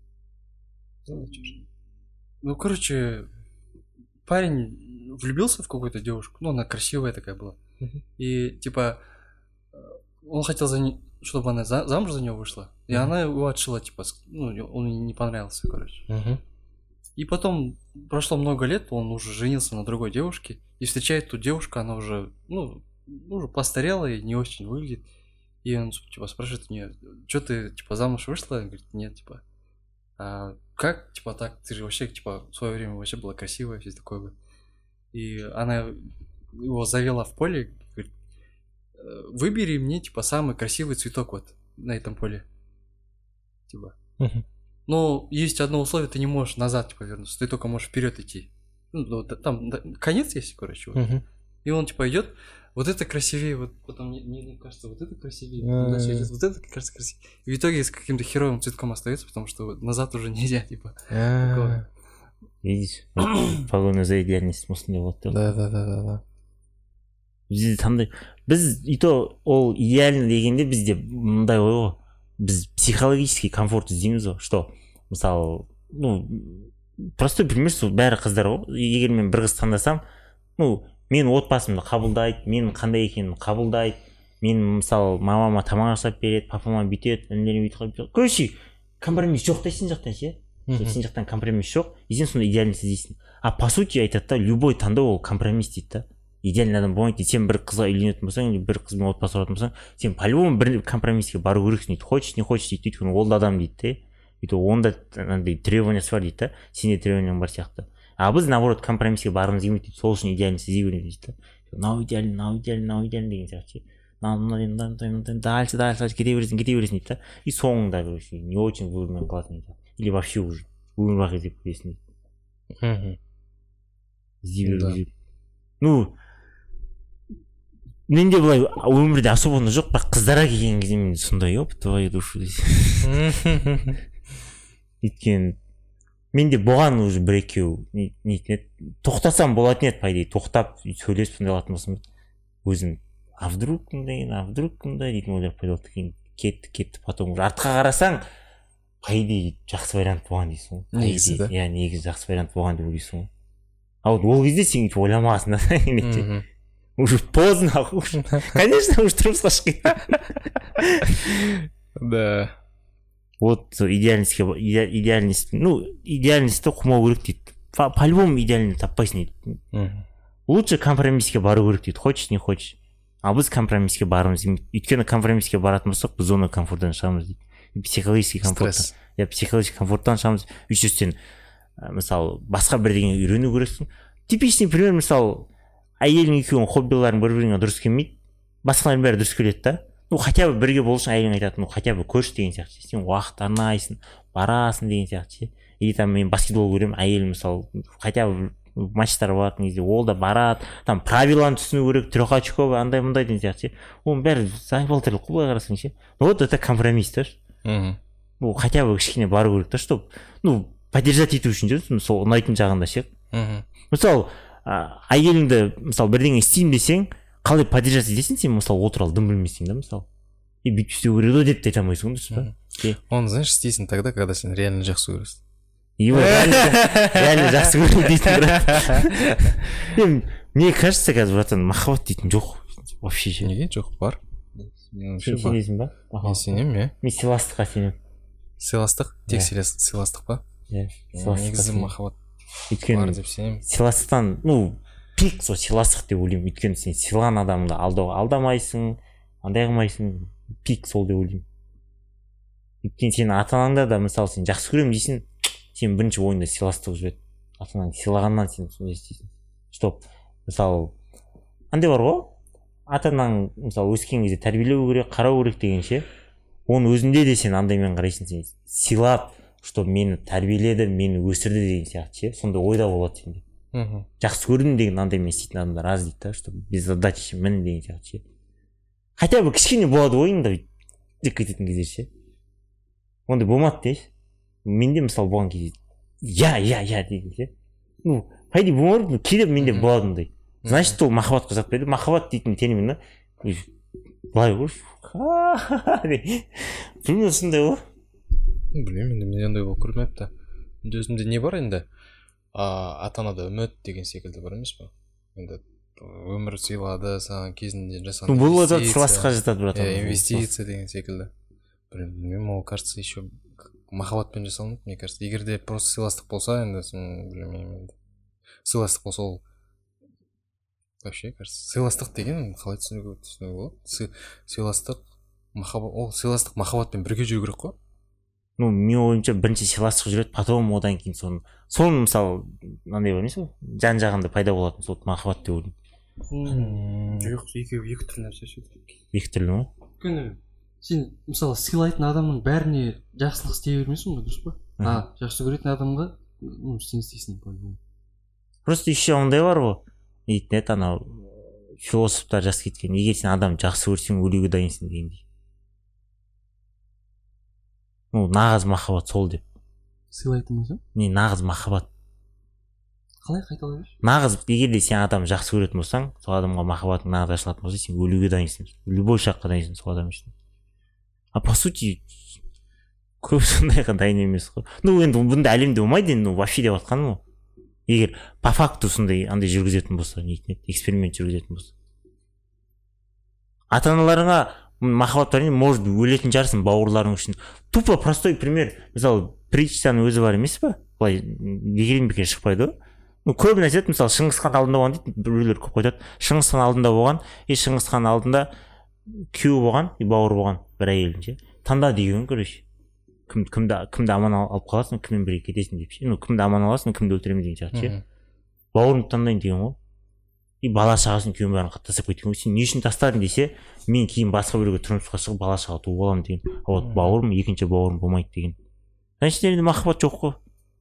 Ну, короче, парень влюбился в какую-то девушку, ну, она красивая такая была. И, типа, он хотел, за не... чтобы она за... замуж за него вышла. И она его отшила, типа, ну, он ей не понравился, короче. И потом прошло много лет, он уже женился на другой девушке. И встречает ту девушку, она уже, ну, уже постарела и не очень выглядит. И он, типа, спрашивает у нее, что ты, типа, замуж вышла? Она говорит, нет, типа, а как, типа, так? Ты же вообще, типа, в свое время вообще была красивая, все такое. И она его завела в поле, говорит, выбери мне, типа, самый красивый цветок вот на этом поле. Типа. Но есть одно условие, ты не можешь назад, типа, вернуться, ты только можешь вперед идти. Ну, там да, конец есть, короче. Вот. Uh-huh. И он, типа, идет, вот это красивее, вот потом мне, мне кажется, вот это красивее, uh-huh. дальше идет, вот это кажется красивее. И в итоге с каким-то херовым цветком остается, потому что назад уже нельзя, типа. Uh-huh. Видишь, погоня за идеальность осындай болады. Да, да, да, да, да. Бізде таңдай, біз и то ол идеально дегенде бізде мындай ой ғой, біз психологический комфорт іздейміз ғой, что, мысалы, ну, простой пример, бәрі қыздар ғой, егер мен бір қыз таңдасам, ну, мен отбасымды қабылдайды, мен қандай екенімді қабылдайды, мен мысалы мамама тамақ жасап береді, папама бүйтеді, інілерім бүйтіп қойып, короче, компромисс жоқ та сен жақтан ше, сен жақтан компромисс жоқ, и сен сонда идеальность іздейсің. А по сути айтады да, любой таңдау ол компромисс дейді да. Идеальный адам болмайды дейді. Сен бір қызға үйленетін болсаң, бір қызбен отбасы құратын болсаң, сен по-любому бір компромисске бару керексің дейді. Хочешь, не хочешь дейді, өйткені ол да адам дейді де. Өйтіп онда андай требованиясы бар дейді да. Сенде требованияң бар сияқты. А біз наоборот компромисске барғымыз келмейді дейді. Сол үшін идеальность іздей береміз дейді да. Мынау идеальный, мынау идеальный, мынау идеальный деген сияқты. Мынау дальше, дальше, кете бересің, кете бересің дейді да. И соңында короче не очень выбормен қаласың дейді. Или вообще уже өмір іздеп көресің дейді. Іздей беру. Ну, менде былай өмірде особо жоқ, бірақ қыздарға келген кезде мен сондай оп, твою душу дейсің. Өйткені менде болған уже бір екеу нетін еді, тоқтасам болатын еді, по идее, тоқтап сөйлесіп сондай алатын болсам өзім, а вдруг кімдай, а вдруг кімдай дейтін ойлар пайда болды. Кейін кетті, кетті, потом уже артқа қарасаң, по идее, жақсы вариант болған дейсің. Негізі да? Иә, негізі жақсы вариант болған деп ойлайсың. А вот ол кезде сен ойламағасың да. Уже поздно, конечно, уже тұрмысқа шығып кетті. Да. Вот идеальностьке, идеальность, ну, идеальностьті қумау керек дейді. По-любому идеальный таппайсың дейді. Лучше компромисске бару керек дейді. Хочешь, не хочешь. А біз компромисске барымыз. Өйткені компромисске баратын болсақ, біз зона комфорттан шығамыз дейді. Психологический комфорттан. Я психологический комфорттан шығамыз. Үшінші сен, мысалы, басқа бірдеңе үйрену керексің. Типичный пример, мысалы, әйелің екеуің хоббиларың бір-біріңе дұрыс келмейді, басқалардың бәрі дұрыс келеді да. Ну, хотя бы бірге бол үшін әйелің айтады, ну, хотя бы көрші деген сияқты. Сен уақыт арнайсың, барасың деген сияқты. Или там мен баскетбол көремін, әйелім мысалы, хотя бы матчтар болатын кезде ол да барады, там правиланы түсіну керек, трехочковый, андай мындай деген сияқты. Оның бәрі заебал тірлік қой, былай қарасаң ше. Вот это компромисс да. ну хотя бы кішкене бару керек та, чтобы ну поддержать ету үшін жүрсің сол ұнайтын жағында ше. Мысалы әйеліңді мысалы бірдеңе істеймін десең қалай поддержать етесің сен, мысалы отырал дым білмейсің да, мысалы и бүйтіп істеу керек еді деп те айта алмайсың дұрыс па. Оны знаешь істейсің тогда, когда сен реально жақсы көресің. Его реально жақсы көрем дейтін брат. Мне кажется, қазір братан махаббат дейтін жоқ вообще ше. Неге жоқ, бар. Сен сенесің ба? Мен сенемін, иә. Мен сыйластыққа сенемін. Сыйластық, тек сыйластық па? Иә, негізі махаббат бар деп сенемін. Сыйластықтан ну пик сол сыйластық деп ойлаймын, өйткені сен сыйлаған адамды алдауға алдамайсың, андай қылмайсың, пик сол деп ойлаймын. Өйткені сенің ата анаңда да мысалы сен жақсы көремін дейсің, сен бірінші ойыңда сыйластық жүреді. Ата анаңды сыйлағаннан сен сондай істейсің. Стоп. Мысалы андай бар ғой, ата анаң мысалы өскен кезде тәрбиелеу керек, қарау керек дегенше, оның өзінде де сен андаймен қарайсың, сен сыйлап, что мені тәрбиеледі, мені өсірді деген сияқты ше, сондай ойда болады сенде. Жақсы көрдім деген андаймен істейтін адамдар аз дейді да, что без задачи мін деген сияқты ше. Хотя бы кішкене болады ойыңда деп кететін кезде ше. Ондай болмады деші. Менде мысалы болған кезде я я я деген ше. Ну пайда болмады, кейде менде болады ондай. Значит ол махаббатқа жатпайды. Махаббат дейтін термин былай ғой. Білмеймін сондай ғой. Білмеймін, енді менде ондай болып көрмепті. Енді өзімде не бар енді? Ата анада үміт деген секілді бар емес па? Енді өмір сыйлады, саған кезінде жасаған инвестиция. Бұл да сыйластыққа жатады брат. Инвестиция деген секілді. Білмеймін, ол кажется еще махаббатпен жасалынады, мне кажется. Егер де просто сыйластық болса, енді білмеймін енді. Сыйластық болса ол вообще кажется сыйластық деген қалай түсінуге болады? Сыйластық махаббат, ол сыйластық махаббатпен бірге жүру керек қой. Ну мен ойымша бірінші сыйластық жүреді, потом одан кейін соны соны мысалы мынандай бар емес пе, жан жағында пайда болатын сол махаббат деп ойлаймын. Жоқ, екеуі екі түрлі нәрсе ше. Екі түрлі ма? Өйткені сен мысалы сыйлайтын адамның бәріне жақсылық істей бермейсің ғой, дұрыс па? А жақсы көретін адамға ну сен істейсің по-любому. Просто еще ондай бар ғой, дейтін еді анау философтар жазып кеткен, егер сен адам жақсы көрсең өлуге дайынсың дегендей. Ну нағыз махаббат сол деп. Сыйлайтын болсаң? Не нағыз махаббат. Қалай қайталай берші? Нағыз егер де сен адам жақсы көретін болсаң, сол адамға махаббатың нағыз ашылатын болса, сен өлуге дайынсың. Любой шаққа дайынсың сол адам үшін. А по сути көп сондайға дайын емес қой. Ну енді бұнда әлемде болмайды енді, ну вообще деп жатқаным ғой. Егер по факту сондай андай жүргізетін болса, нетін еді, эксперимент жүргізетін болса. Ата-аналарыңа махаббат бар, может өлетін жарсың бауырларың үшін. Тупо простой пример. Мысалы притчаның өзі бар емес па? Былай бекерден бекер шықпайды ғой. Ну көбіне айтады, мысалы Шыңғысхан алдында болған дейді, біреулер көп айтады. Шыңғысхан алдында болған, и Шыңғысхан алдында күйеу болған, и бауыр болған бір әйелдің ше. Таңда деген короче. Кім кімді кімді аман алып қаласың, кіммен бірге кетесің деп ше. Ну кімді аман аласың, кімді өлтіремін деген сияқты ше. Бауырымды таңдайын деген ғой. И бала шағасын күйеуін бәрін тастап кеткен ғой. Сен не үшін тастадың десе, мен кейін басқа біреуге тұрмысқа шығып бала шаға туып аламын деген. А вот бауырым, екінші бауырым болмайды деген. Значит, енді махаббат жоқ қой.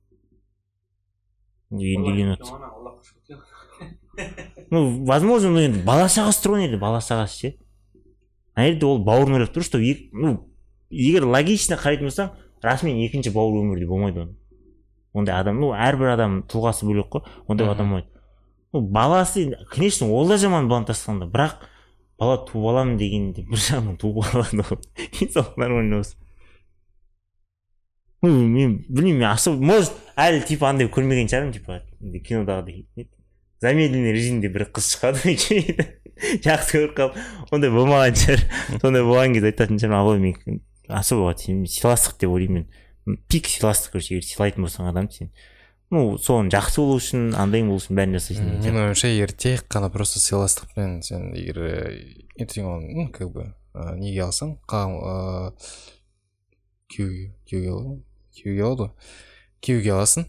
Енді үйленіп отыр. Ну, возможно, ну енді бала шағасы тұрған еді, бала шағасы ше. А енді ол бауырын ойлап тұр, что ну, егер логично қарайтын болсаң, расымен екінші бауыр өмірде болмайды оны. Ондай адам, ну, әрбір адам тұлғасы бөлек қой, ондай адам болмайды. Ну, баласы, конечно, ол да жаман баланы тастағанда, бірақ бала туып аламын дегенде бір жағынан туып алады ғой. Инсалық нормально болса. Ну, мен білмеймін, мен особо, может, әлі типа андай көрмеген шығармын, типа кинодағыдай. Замедленный режимде бір қыз шығады, жақсы көріп қалып, ондай болмаған шығар. Сондай болған кезде айтатын шығармын, ал мен особо сыйластық деп ойлаймын. Пик сыйластық көрсе, егер сыйлайтын болсаң адам сен. Ну, соның жақсы болу үшін, андайың болу үшін бәрін жасайсың. Мен ойымша, егер тек қана просто сыйластықпен сен егер ертең оны, как бы, неге алсаң, күйеуге, күйеуге алады, күйеуге алады, күйеуге аласың.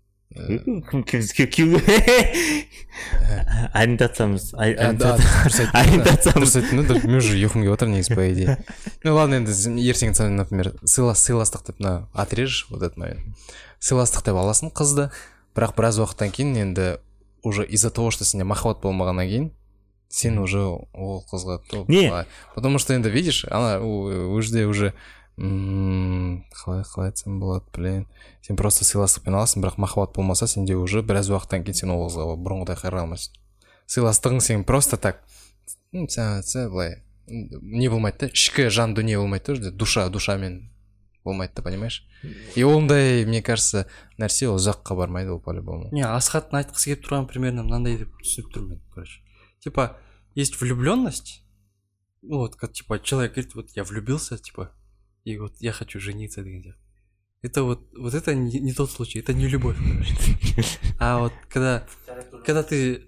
Күйеуге ориентациямыз, ориентациямыз. Мен уже ұйқым келіп отыр негізі по идее. Ну ладно, енді ертең сен, например, сыйластық деп отрежешь вот этот момент. Сыйластық деп аласың қызды, бірақ біраз уақыттан кейін енді уже из-за того, что сенде махаббат болмағаннан кейін, сен уже ол қызға топ. Не? Потому что енді видишь, ана ол жерде уже Ммм, қалай қалай айтсам болады, блин. Сен просто сыйластықпен аласың, бірақ махаббат болмаса, сенде уже біраз уақыттан кейін сен ол қызға бұрынғыдай қарай алмайсың. Сыйластығың сен просто так, сәл былай не болмайды да, ішкі жан дүние болмайды да, душа душамен болмайды да, понимаешь? И ондай, мне кажется, нәрсе ол жаққа бармайды, ол по-любому. Не, Асхаттың айтқысы келіп тұрған примерно мынандай деп түсініп тұрмын мен, короче. Типа, есть влюбленность, ну вот, как, типа, человек говорит, вот я влюбился, типа, и вот я хочу жениться, деген сияқты. Это вот, вот это не, не тот случай, это не любовь, короче. А вот когда, когда ты,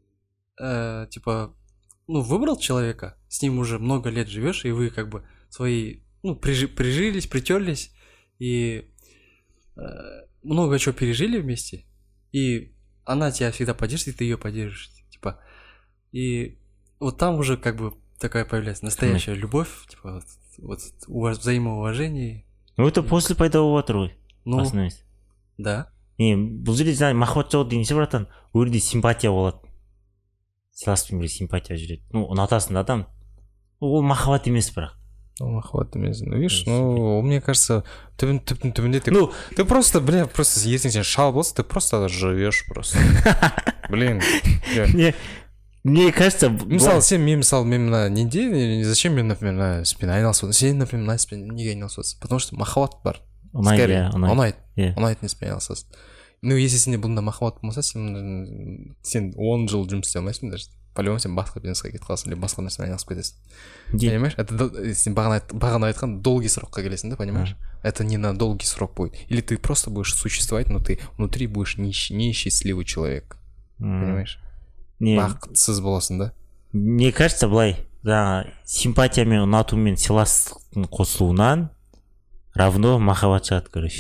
э, типа, ну, выбрал человека, с ним уже много лет живешь, и вы как бы свои, ну, прижи, прижились, притерлись, и э, много чего пережили вместе, и она тебя всегда поддержит, и ты ее поддержишь, типа. И вот там уже как бы такая появляется настоящая любовь, типа, вот, вот взаимоуважение. Ну, это после пайда болып жатыр ғой. Ну, Басында. да. Не, бұл жерде жаңа махаббат жоқ деген ше, братан, ол жерде симпатия болады. Сыйластықпен бірге симпатия жүреді. Ну, ұнатасың да адам. Ол махаббат емес бірақ. Ну, махаббат емес. Ну, видишь, ну, мне кажется, түбін түптің түбінде ты, ну, ты просто, бля, просто ертең сен шал болса, ты просто живешь просто. Блин. Не, мне кажется, мысалы сен мен мысалы мен мына неде зачем мен например мына іспен айналысып отырсың, сен например мына іспен неге айналысып отырсың, потому что махаббат бар. ұнайды, ұнайды иә, ұнайтын іспен айналысасың. Ну если сенде бұнда махаббат болмаса, сен сен он жыл жұмыс істей алмайсың даже, по-любому сен басқа бизнеске кетіп қаласың или басқа нәрсемен айналысып кетесің. Понимаешь, это сен бағана бағана айтқан долгий срокқа келесің да, понимаешь, это не на долгий срок будет, или ты просто будешь существовать, но ты внутри будешь несчастливый человек, понимаешь. Бақытсыз боласың да. Мне кажется, былай, жаңа симпатия мен ұнату мен сыйластықтың қосылуынан равно махаббат шығады, короче.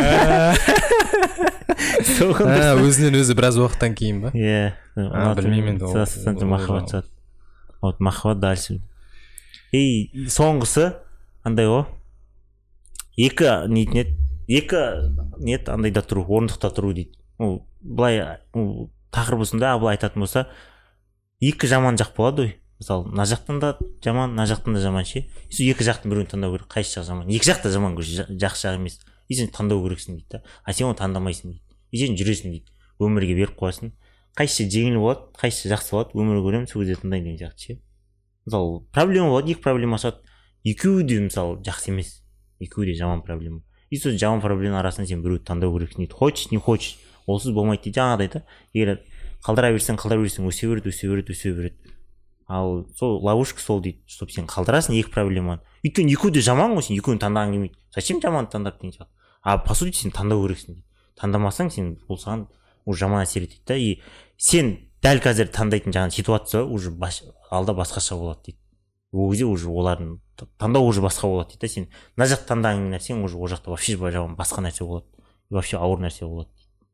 Өзінен өзі біраз уақыттан кейін ба? Иә, білмеймін енді. Сыйластықтан махаббат шығады. Вот махаббат дальше. И соңғысы андай ғой, екі нетін еді, екі нет андайда тұру, орындықта тұру дейді. Ну, былай тақырыбысында былай айтатын болса, екі жаман жақ болады ғой. Мысалы, мына жақтан да жаман, мына жақтан да жаман ше. Сол екі жақтың біреуін таңдау керек. Қайсы жақ жаман? Екі жақ та жаман, жақсы жақ емес. И сен таңдау керексің дейді да. А сен оны таңдамайсың дейді. И сен жүресің дейді. Өмірге беріп қоясың. Қайсы жеңіл болады, қайсы жақсы болады, өмір көремін, сол кезде таңдаймын деген сияқты ше. Мысалы, проблема болады, екі проблема шығады. Екеуі де мысалы жақсы емес. Екеуі де жаман проблема. И сол жаман проблема арасынан сен біреуді таңдау керексің дейді. Хочешь, не хочешь. Олсыз болмайды дейді. Жаңағыдай да. Егер қалдыра берсең, қалдыра берсең, өсе береді, өсе береді, өсе береді. Ал сол ловушка сол дейді, чтобы сен қалдырасың екі проблеманы. Өйткені екеуі де жаман ғой, сен екеуін таңдаған келмейді. Зачем жаман таңдап деген сияқты. А по сути сен таңдау керексің дейді. Таңдамасаң сен ол саған уже жаман әсер етеді да. И сен дәл қазір таңдайтын жаңағы ситуация уже алда басқаша болады дейді. Ол кезде уже олардың таңдау уже басқа болады дейді да. Сен мына жақ таңдаған нәрсең уже ол жақта вообще жаман басқа нәрсе болады. Вообще ауыр нәрсе болады.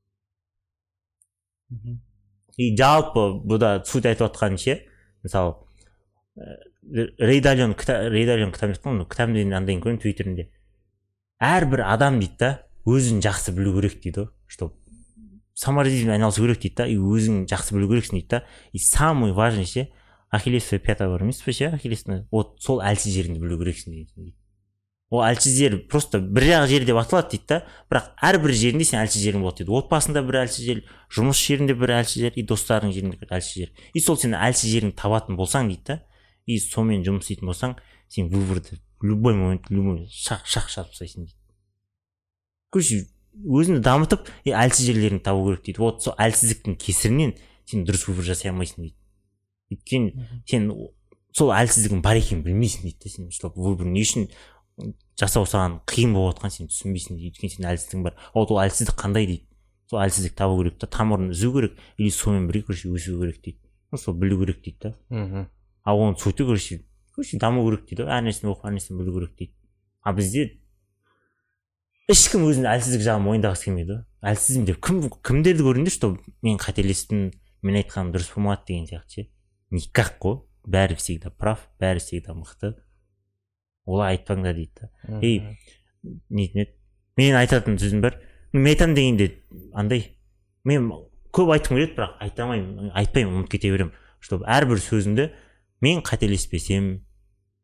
И жалпы бұда суть айтып отқан ше, мысалы Рейдалион Рейдалион кітап жазған, кітабын андайын көрдім Твиттерінде. Әрбір адам дейді да, өзін жақсы білу керек дейді, что саморазделениемен айналысу керек дейді да, и өзің жақсы білу керексің дейді да. И самый важный ше, Ахиллесова пята бар емес пе ше, Ахиллестің, вот сол әлсіз жеріңді білу керексің дейді. Ол әлсіз жер просто бір жақ жер деп аталады дейді да, бірақ әрбір жерінде сен әлсіз жерің болады дейді. Отбасында бір әлсіз жер, жұмыс жерінде бір әлсіз жер, и достарың жерінде бір әлсіз жер. И сол сен әлсіз жеріңді табатын болсаң дейді да, и сонымен жұмыс істейтін болсаң, сен выборды любой момент, любой шақ шақ шақ тастайсың дейді. Короче, өзіңді дамытып, и әлсіз жерлеріңді табу керек дейді. Вот сол әлсіздіктің кесірінен сен дұрыс выбор жасай алмайсың дейді. Өйткені сен сол әлсіздігің бар екенін білмейсің дейді да, сен сол выбор не үшін жасау саған қиын болып отқан сен түсінбейсің дейді. Өйткені сен әлсіздігің бар. Ол ол әлсіздік қандай дейді. Сол әлсіздік табу керек та, тамырын үзу керек, или сонымен бірге короче өсу керек дейді. Сол білу керек дейді да. А оны сөйту короче, короче даму керек дейді. Әр нәрсені оқып, әр нәрсені білу керек дейді. А бізде ешкім өзінің әлсіздік жағын мойындағысы келмейді. Әлсізім деп кім кімдерді көрдіңдер, что мен қателестім, мен айтқаным дұрыс болмады деген сияқты ше. Никак қой. Бәрі всегда прав, бәрі всегда мықты. Олай айтпаңдар дейді да. Ей, нетін еді. Мен айтатын сөзім бар. Мен айтам дегенде андай. Мен көп айтқым келеді, бірақ айта алмаймын, айтпаймын, ұмытып кете беремін. Чтобы әрбір сөзімді мен қателеспесем,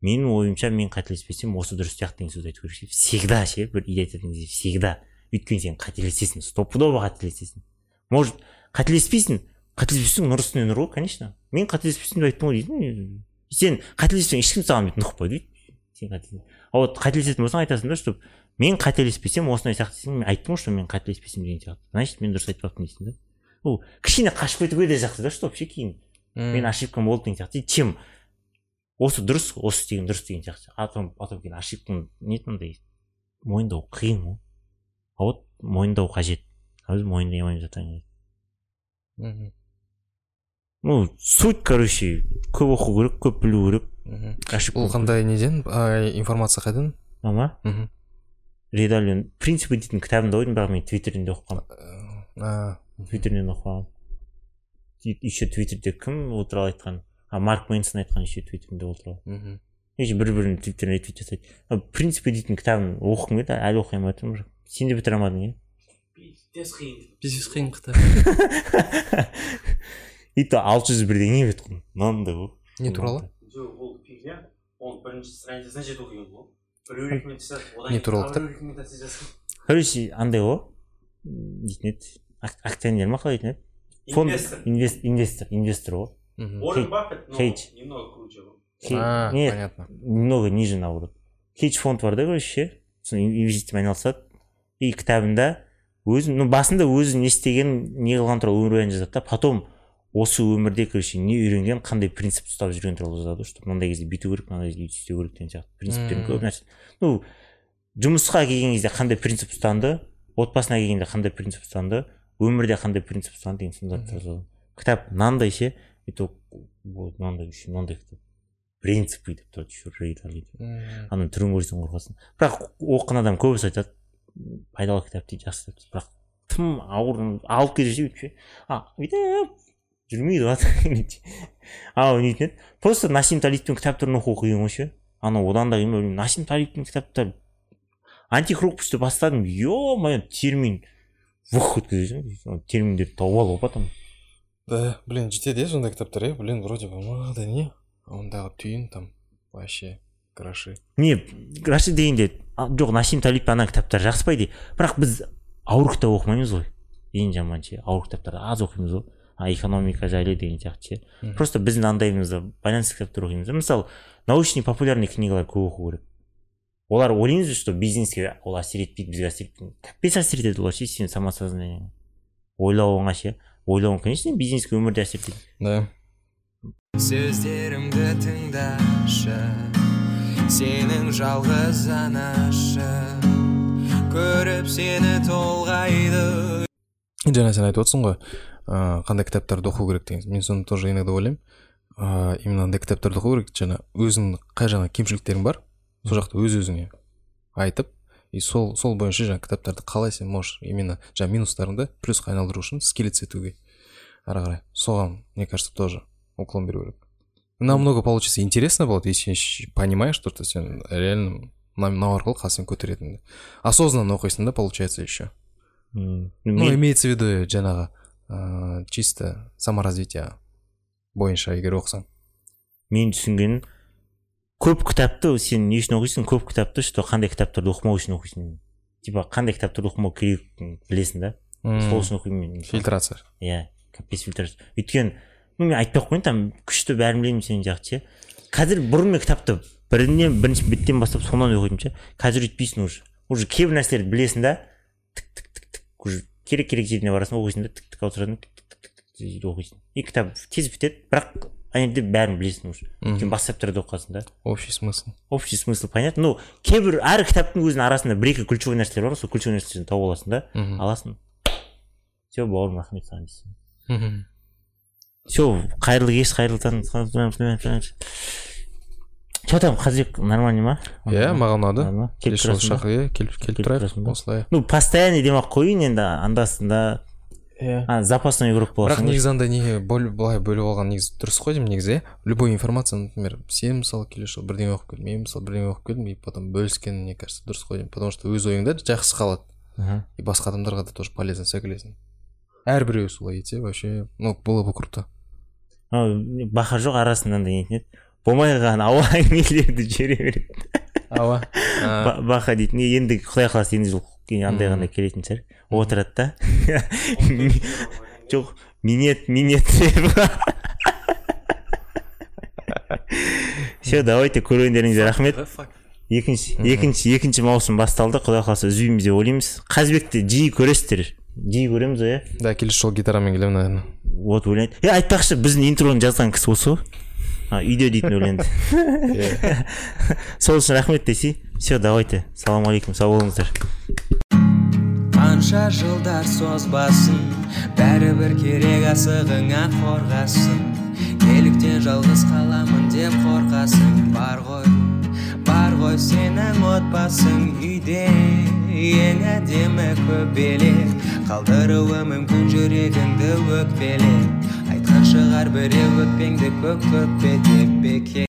менің ойымша мен қателеспесем осы дұрыс сияқты деген сөз айту керек ше. Всегда ше, бір идея айтатын кезде всегда. Өйткені сен қателесесің, стопудово қателесесің. Может, қателеспейсің, қателеспесең нұр үстіне нұр ғой, конечно. Мен қателеспесем деп айттым ғой дейсің. Сен қателессең ешкім саған бүйтіп нұқпайды дейді. Сен қателесің. А вот қателесетін болсаң айтасың да, что мен қателеспесем осындай сияқты десең, мен айттым ғой, что мен қателеспесем деген сияқты. Значит, мен дұрыс айтпаппын дейсің да. Ол кішкене қашып кетуге де жақсы да, что вообще кейін мен ошибкам болды деген сияқты. Чем осы дұрыс, осы істеген дұрыс деген сияқты. Атом атом кейін ошибкам не мындай мойындау қиын ғой. А вот мойындау қажет. А біз мойындай алмай жатамыз. Ну, суть, короче, көп оқу керек, көп білу керек. Ол қандай неден информация қайдан? Ама? Редалион принципі дейтін кітабында ойдым, бірақ мен твиттерінде оқығанмын. Твиттерінен оқығанмын. Еще твиттерде кім ол туралы айтқан? А Марк Мэнсон айтқан еще твиттерінде ол туралы. Еще бір-бірін твиттеріне твит жасайды. Принципі дейтін кітабын оқығым келді, әлі оқи алмай жатырмын. Сен де бітіре алмадың, иә? Пиздец қиын. Пиздец қиын кітап. И то алты жүз бірдеңе біткен. Мынандай ғой. Не туралы? Жоқ, ол фигня. Ол бірінші страницасына жетіп оқиын ғой. Біреу рекомендация жасады. Не туралы кітап? Біреу рекомендация жасады. Короче, андай ғой. Дейтін еді. Акционер ма қалай дейтін еді? Инвестор. Инвестор, инвестор ғой. Уоррен Баффет, но немного круче был. А, понятно. Немного ниже наоборот. Хедж фонд бар да, короче, инвестициямен айналысады. И кітабында өзін, ну басында өзі не істеген, не қылған туралы өмірбаян жазады да, потом осы өмірде, короче, не үйренген, қандай принцип ұстап жүрген туралы жазады, что мынандай кезде бүйту керек, мынандай кезде істеу керек деген сияқты. Принциптерін көп нәрсе. Ну, жұмысқа келген кезде қандай принцип ұстанды, отбасына келгенде қандай принцип ұстанды, өмірде қандай принцип ұстанды деген сындарды жазады. Кітап мынандай ше, это вот мынандай еще мынандай кітап. Принципы деп тұрады еще рейдалайды. Ана түрін көрсең қорқасың. Бірақ оқыған адам көбісі айтады, пайдалы кітап дейді, жақсы кітап дейді. Бірақ тым ауыр алып келе ше, а бүйтіп жүрмейді ғой. А нетеді. Просто Насим Талибтің кітаптарын оқу қиын ғой ше. Ана одан да қиын ба, Насим Талибтің кітаптары антихруппусты бастадым. Ё-моё, термин вух өткізесің. Терминдерді тауып алып потом. Да, блин, жетеді сондай кітаптар, е, блин, вроде бы мынандай не? Ондағы түйін там вообще краши. Не, краши дегенде жоқ, Насим Талиб ана кітаптар жақсыпайды. Бірақ біз ауыр кітап оқымаймыз ғой. Ең жаман ше, ауыр кітаптарды аз оқимыз ғой. А экономика жайлы деген сияқты ше. Просто біздің андайымызда байланысты кітаптар оқимыз. Мысалы, научный популярный книгалар көп оқу керек. Олар ойлаймыз, что бизнеске ол әсер етпейді, бізге әсер етпейді. Капец әсер етеді олар ше, сен самосознание. Ойлауыңа ше. Ойлауың, конечно, бизнеске өмірде әсер етеді. Да. Сөздерімді тыңдашы, сенің жалғыз анашы, көріп сені толғайды. Жаңа сен айтып отырсың ғой, қандай кітаптарды оқу керек деген. Мен соны тоже иногда ойлаймын. Именно андай кітаптарды оқу керек, жаңа өзің қай жағынан кемшіліктерің бар, сол жақта өз-өзіңе айтып, и сол сол бойынша жаңа кітаптарды қалай сен можешь именно жаңа минустарыңды плюсқа айналдыру үшін скиллец етуге ары қарай. Соған, мне кажется, тоже уклон беру керек. Намного получится интересно будет, если понимаешь, что ты сен реально мынау арқылы қасың көтеретінді. Осознанно оқисың да, получается еще. Ну, имеется в виду жаңағы чисто саморазвитие бойынша егер оқысаң. Мен түсінгенім, көп кітапты сен не үшін оқисың? Көп кітапты, что қандай кітаптарды оқымау үшін оқисың. Типа қандай кітаптарды оқымау керек білесің да? Сол үшін оқимын. Фильтрация. Иә, капец фильтрация. Өйткені ну мен айтпай ақ қояйын, там күшті бәрін білемін сен жақсы ше. Қазір бұрын мен кітапты бірінен бірінші беттен бастап соңынан оқитын ше. Қазір өйтпейсің уже. Уже кейбір нәрселерді білесің да. Тік тік тік тік. Уже керек керек жеріне барасың, оқисың да, тік тік ауыстырасың, тік тік тік тік оқисың. И кітап тез бітеді, бірақ ана жерде бәрін білесің уже. Өйткені басқа кітаптарды оқасың да. Общий смысл. Общий смысл понятно. Ну, кейбір әр кітаптың өзінің арасында бір-екі ключевой нәрселер бар, сол ключевой нәрселерді тауып аласың да, аласың. Все, бауырым, рахмет саған дейсің. Все, қайырлы кеш, қайырлы таң. Че там, Қазбек, нормально ма? Иә, маған ұнады. Келіп тұрасың. Келіп тұрайық, осылай. Ну, постоянно демақ қойын енді андасында. А, запасной игрок боласың. Бірақ негізі андай не былай бөліп алған негізі дұрыс қой деймін негізі. Любой информация, например, сен мысалы келесі жыл бірдеңе оқып келдім, мен мысалы бірдеңе оқып келдім, и потом бөліскен, мне кажется, дұрыс қой деймін. Потому что өз ойыңда жақсы қалады. И басқа адамдарға да тоже полезно сөйлесің. Әрбіреу солай етсе, вообще, ну, было бы круто. Баха жоқ арасында да нетінеді. болмай қалған ауа әңгімелерді жібере береді. Ауа. Бақа дейтін, енді құдай қаласа енді жыл андай ғана келетін шығар. Отырады да. Жоқ, минет, минет. Все, давайте көргендеріңізге рахмет. Екінші, екінші, екінші маусым басталды. Құдай қаласа үзбейміз деп ойлаймыз. Қазбекті жиі көресіздер. Жиі көреміз ғой, иә? Да, келесі жолы гитарамен келемін, наверное. Вот ойлайды. Е, айтпақшы, біздің интроны жазған кісі осы ғой. Үйде дейтін өлеңді. Сол үшін рахмет десе. Все, давайте. Салам алейкум, сау болыңыздар. Қанша жылдар созбасын, бәрібір керек асығыңа қорғасын. Неліктен жалғыз қаламын деп қорқасың. Бар ғой, бар ғой сенің отбасың үйде. Ең әдемі көбелек, қалдыруы мүмкін жүрегіңді өкпелек. Айтқан шығар біреу өкпеңді көк көкпе деп беке.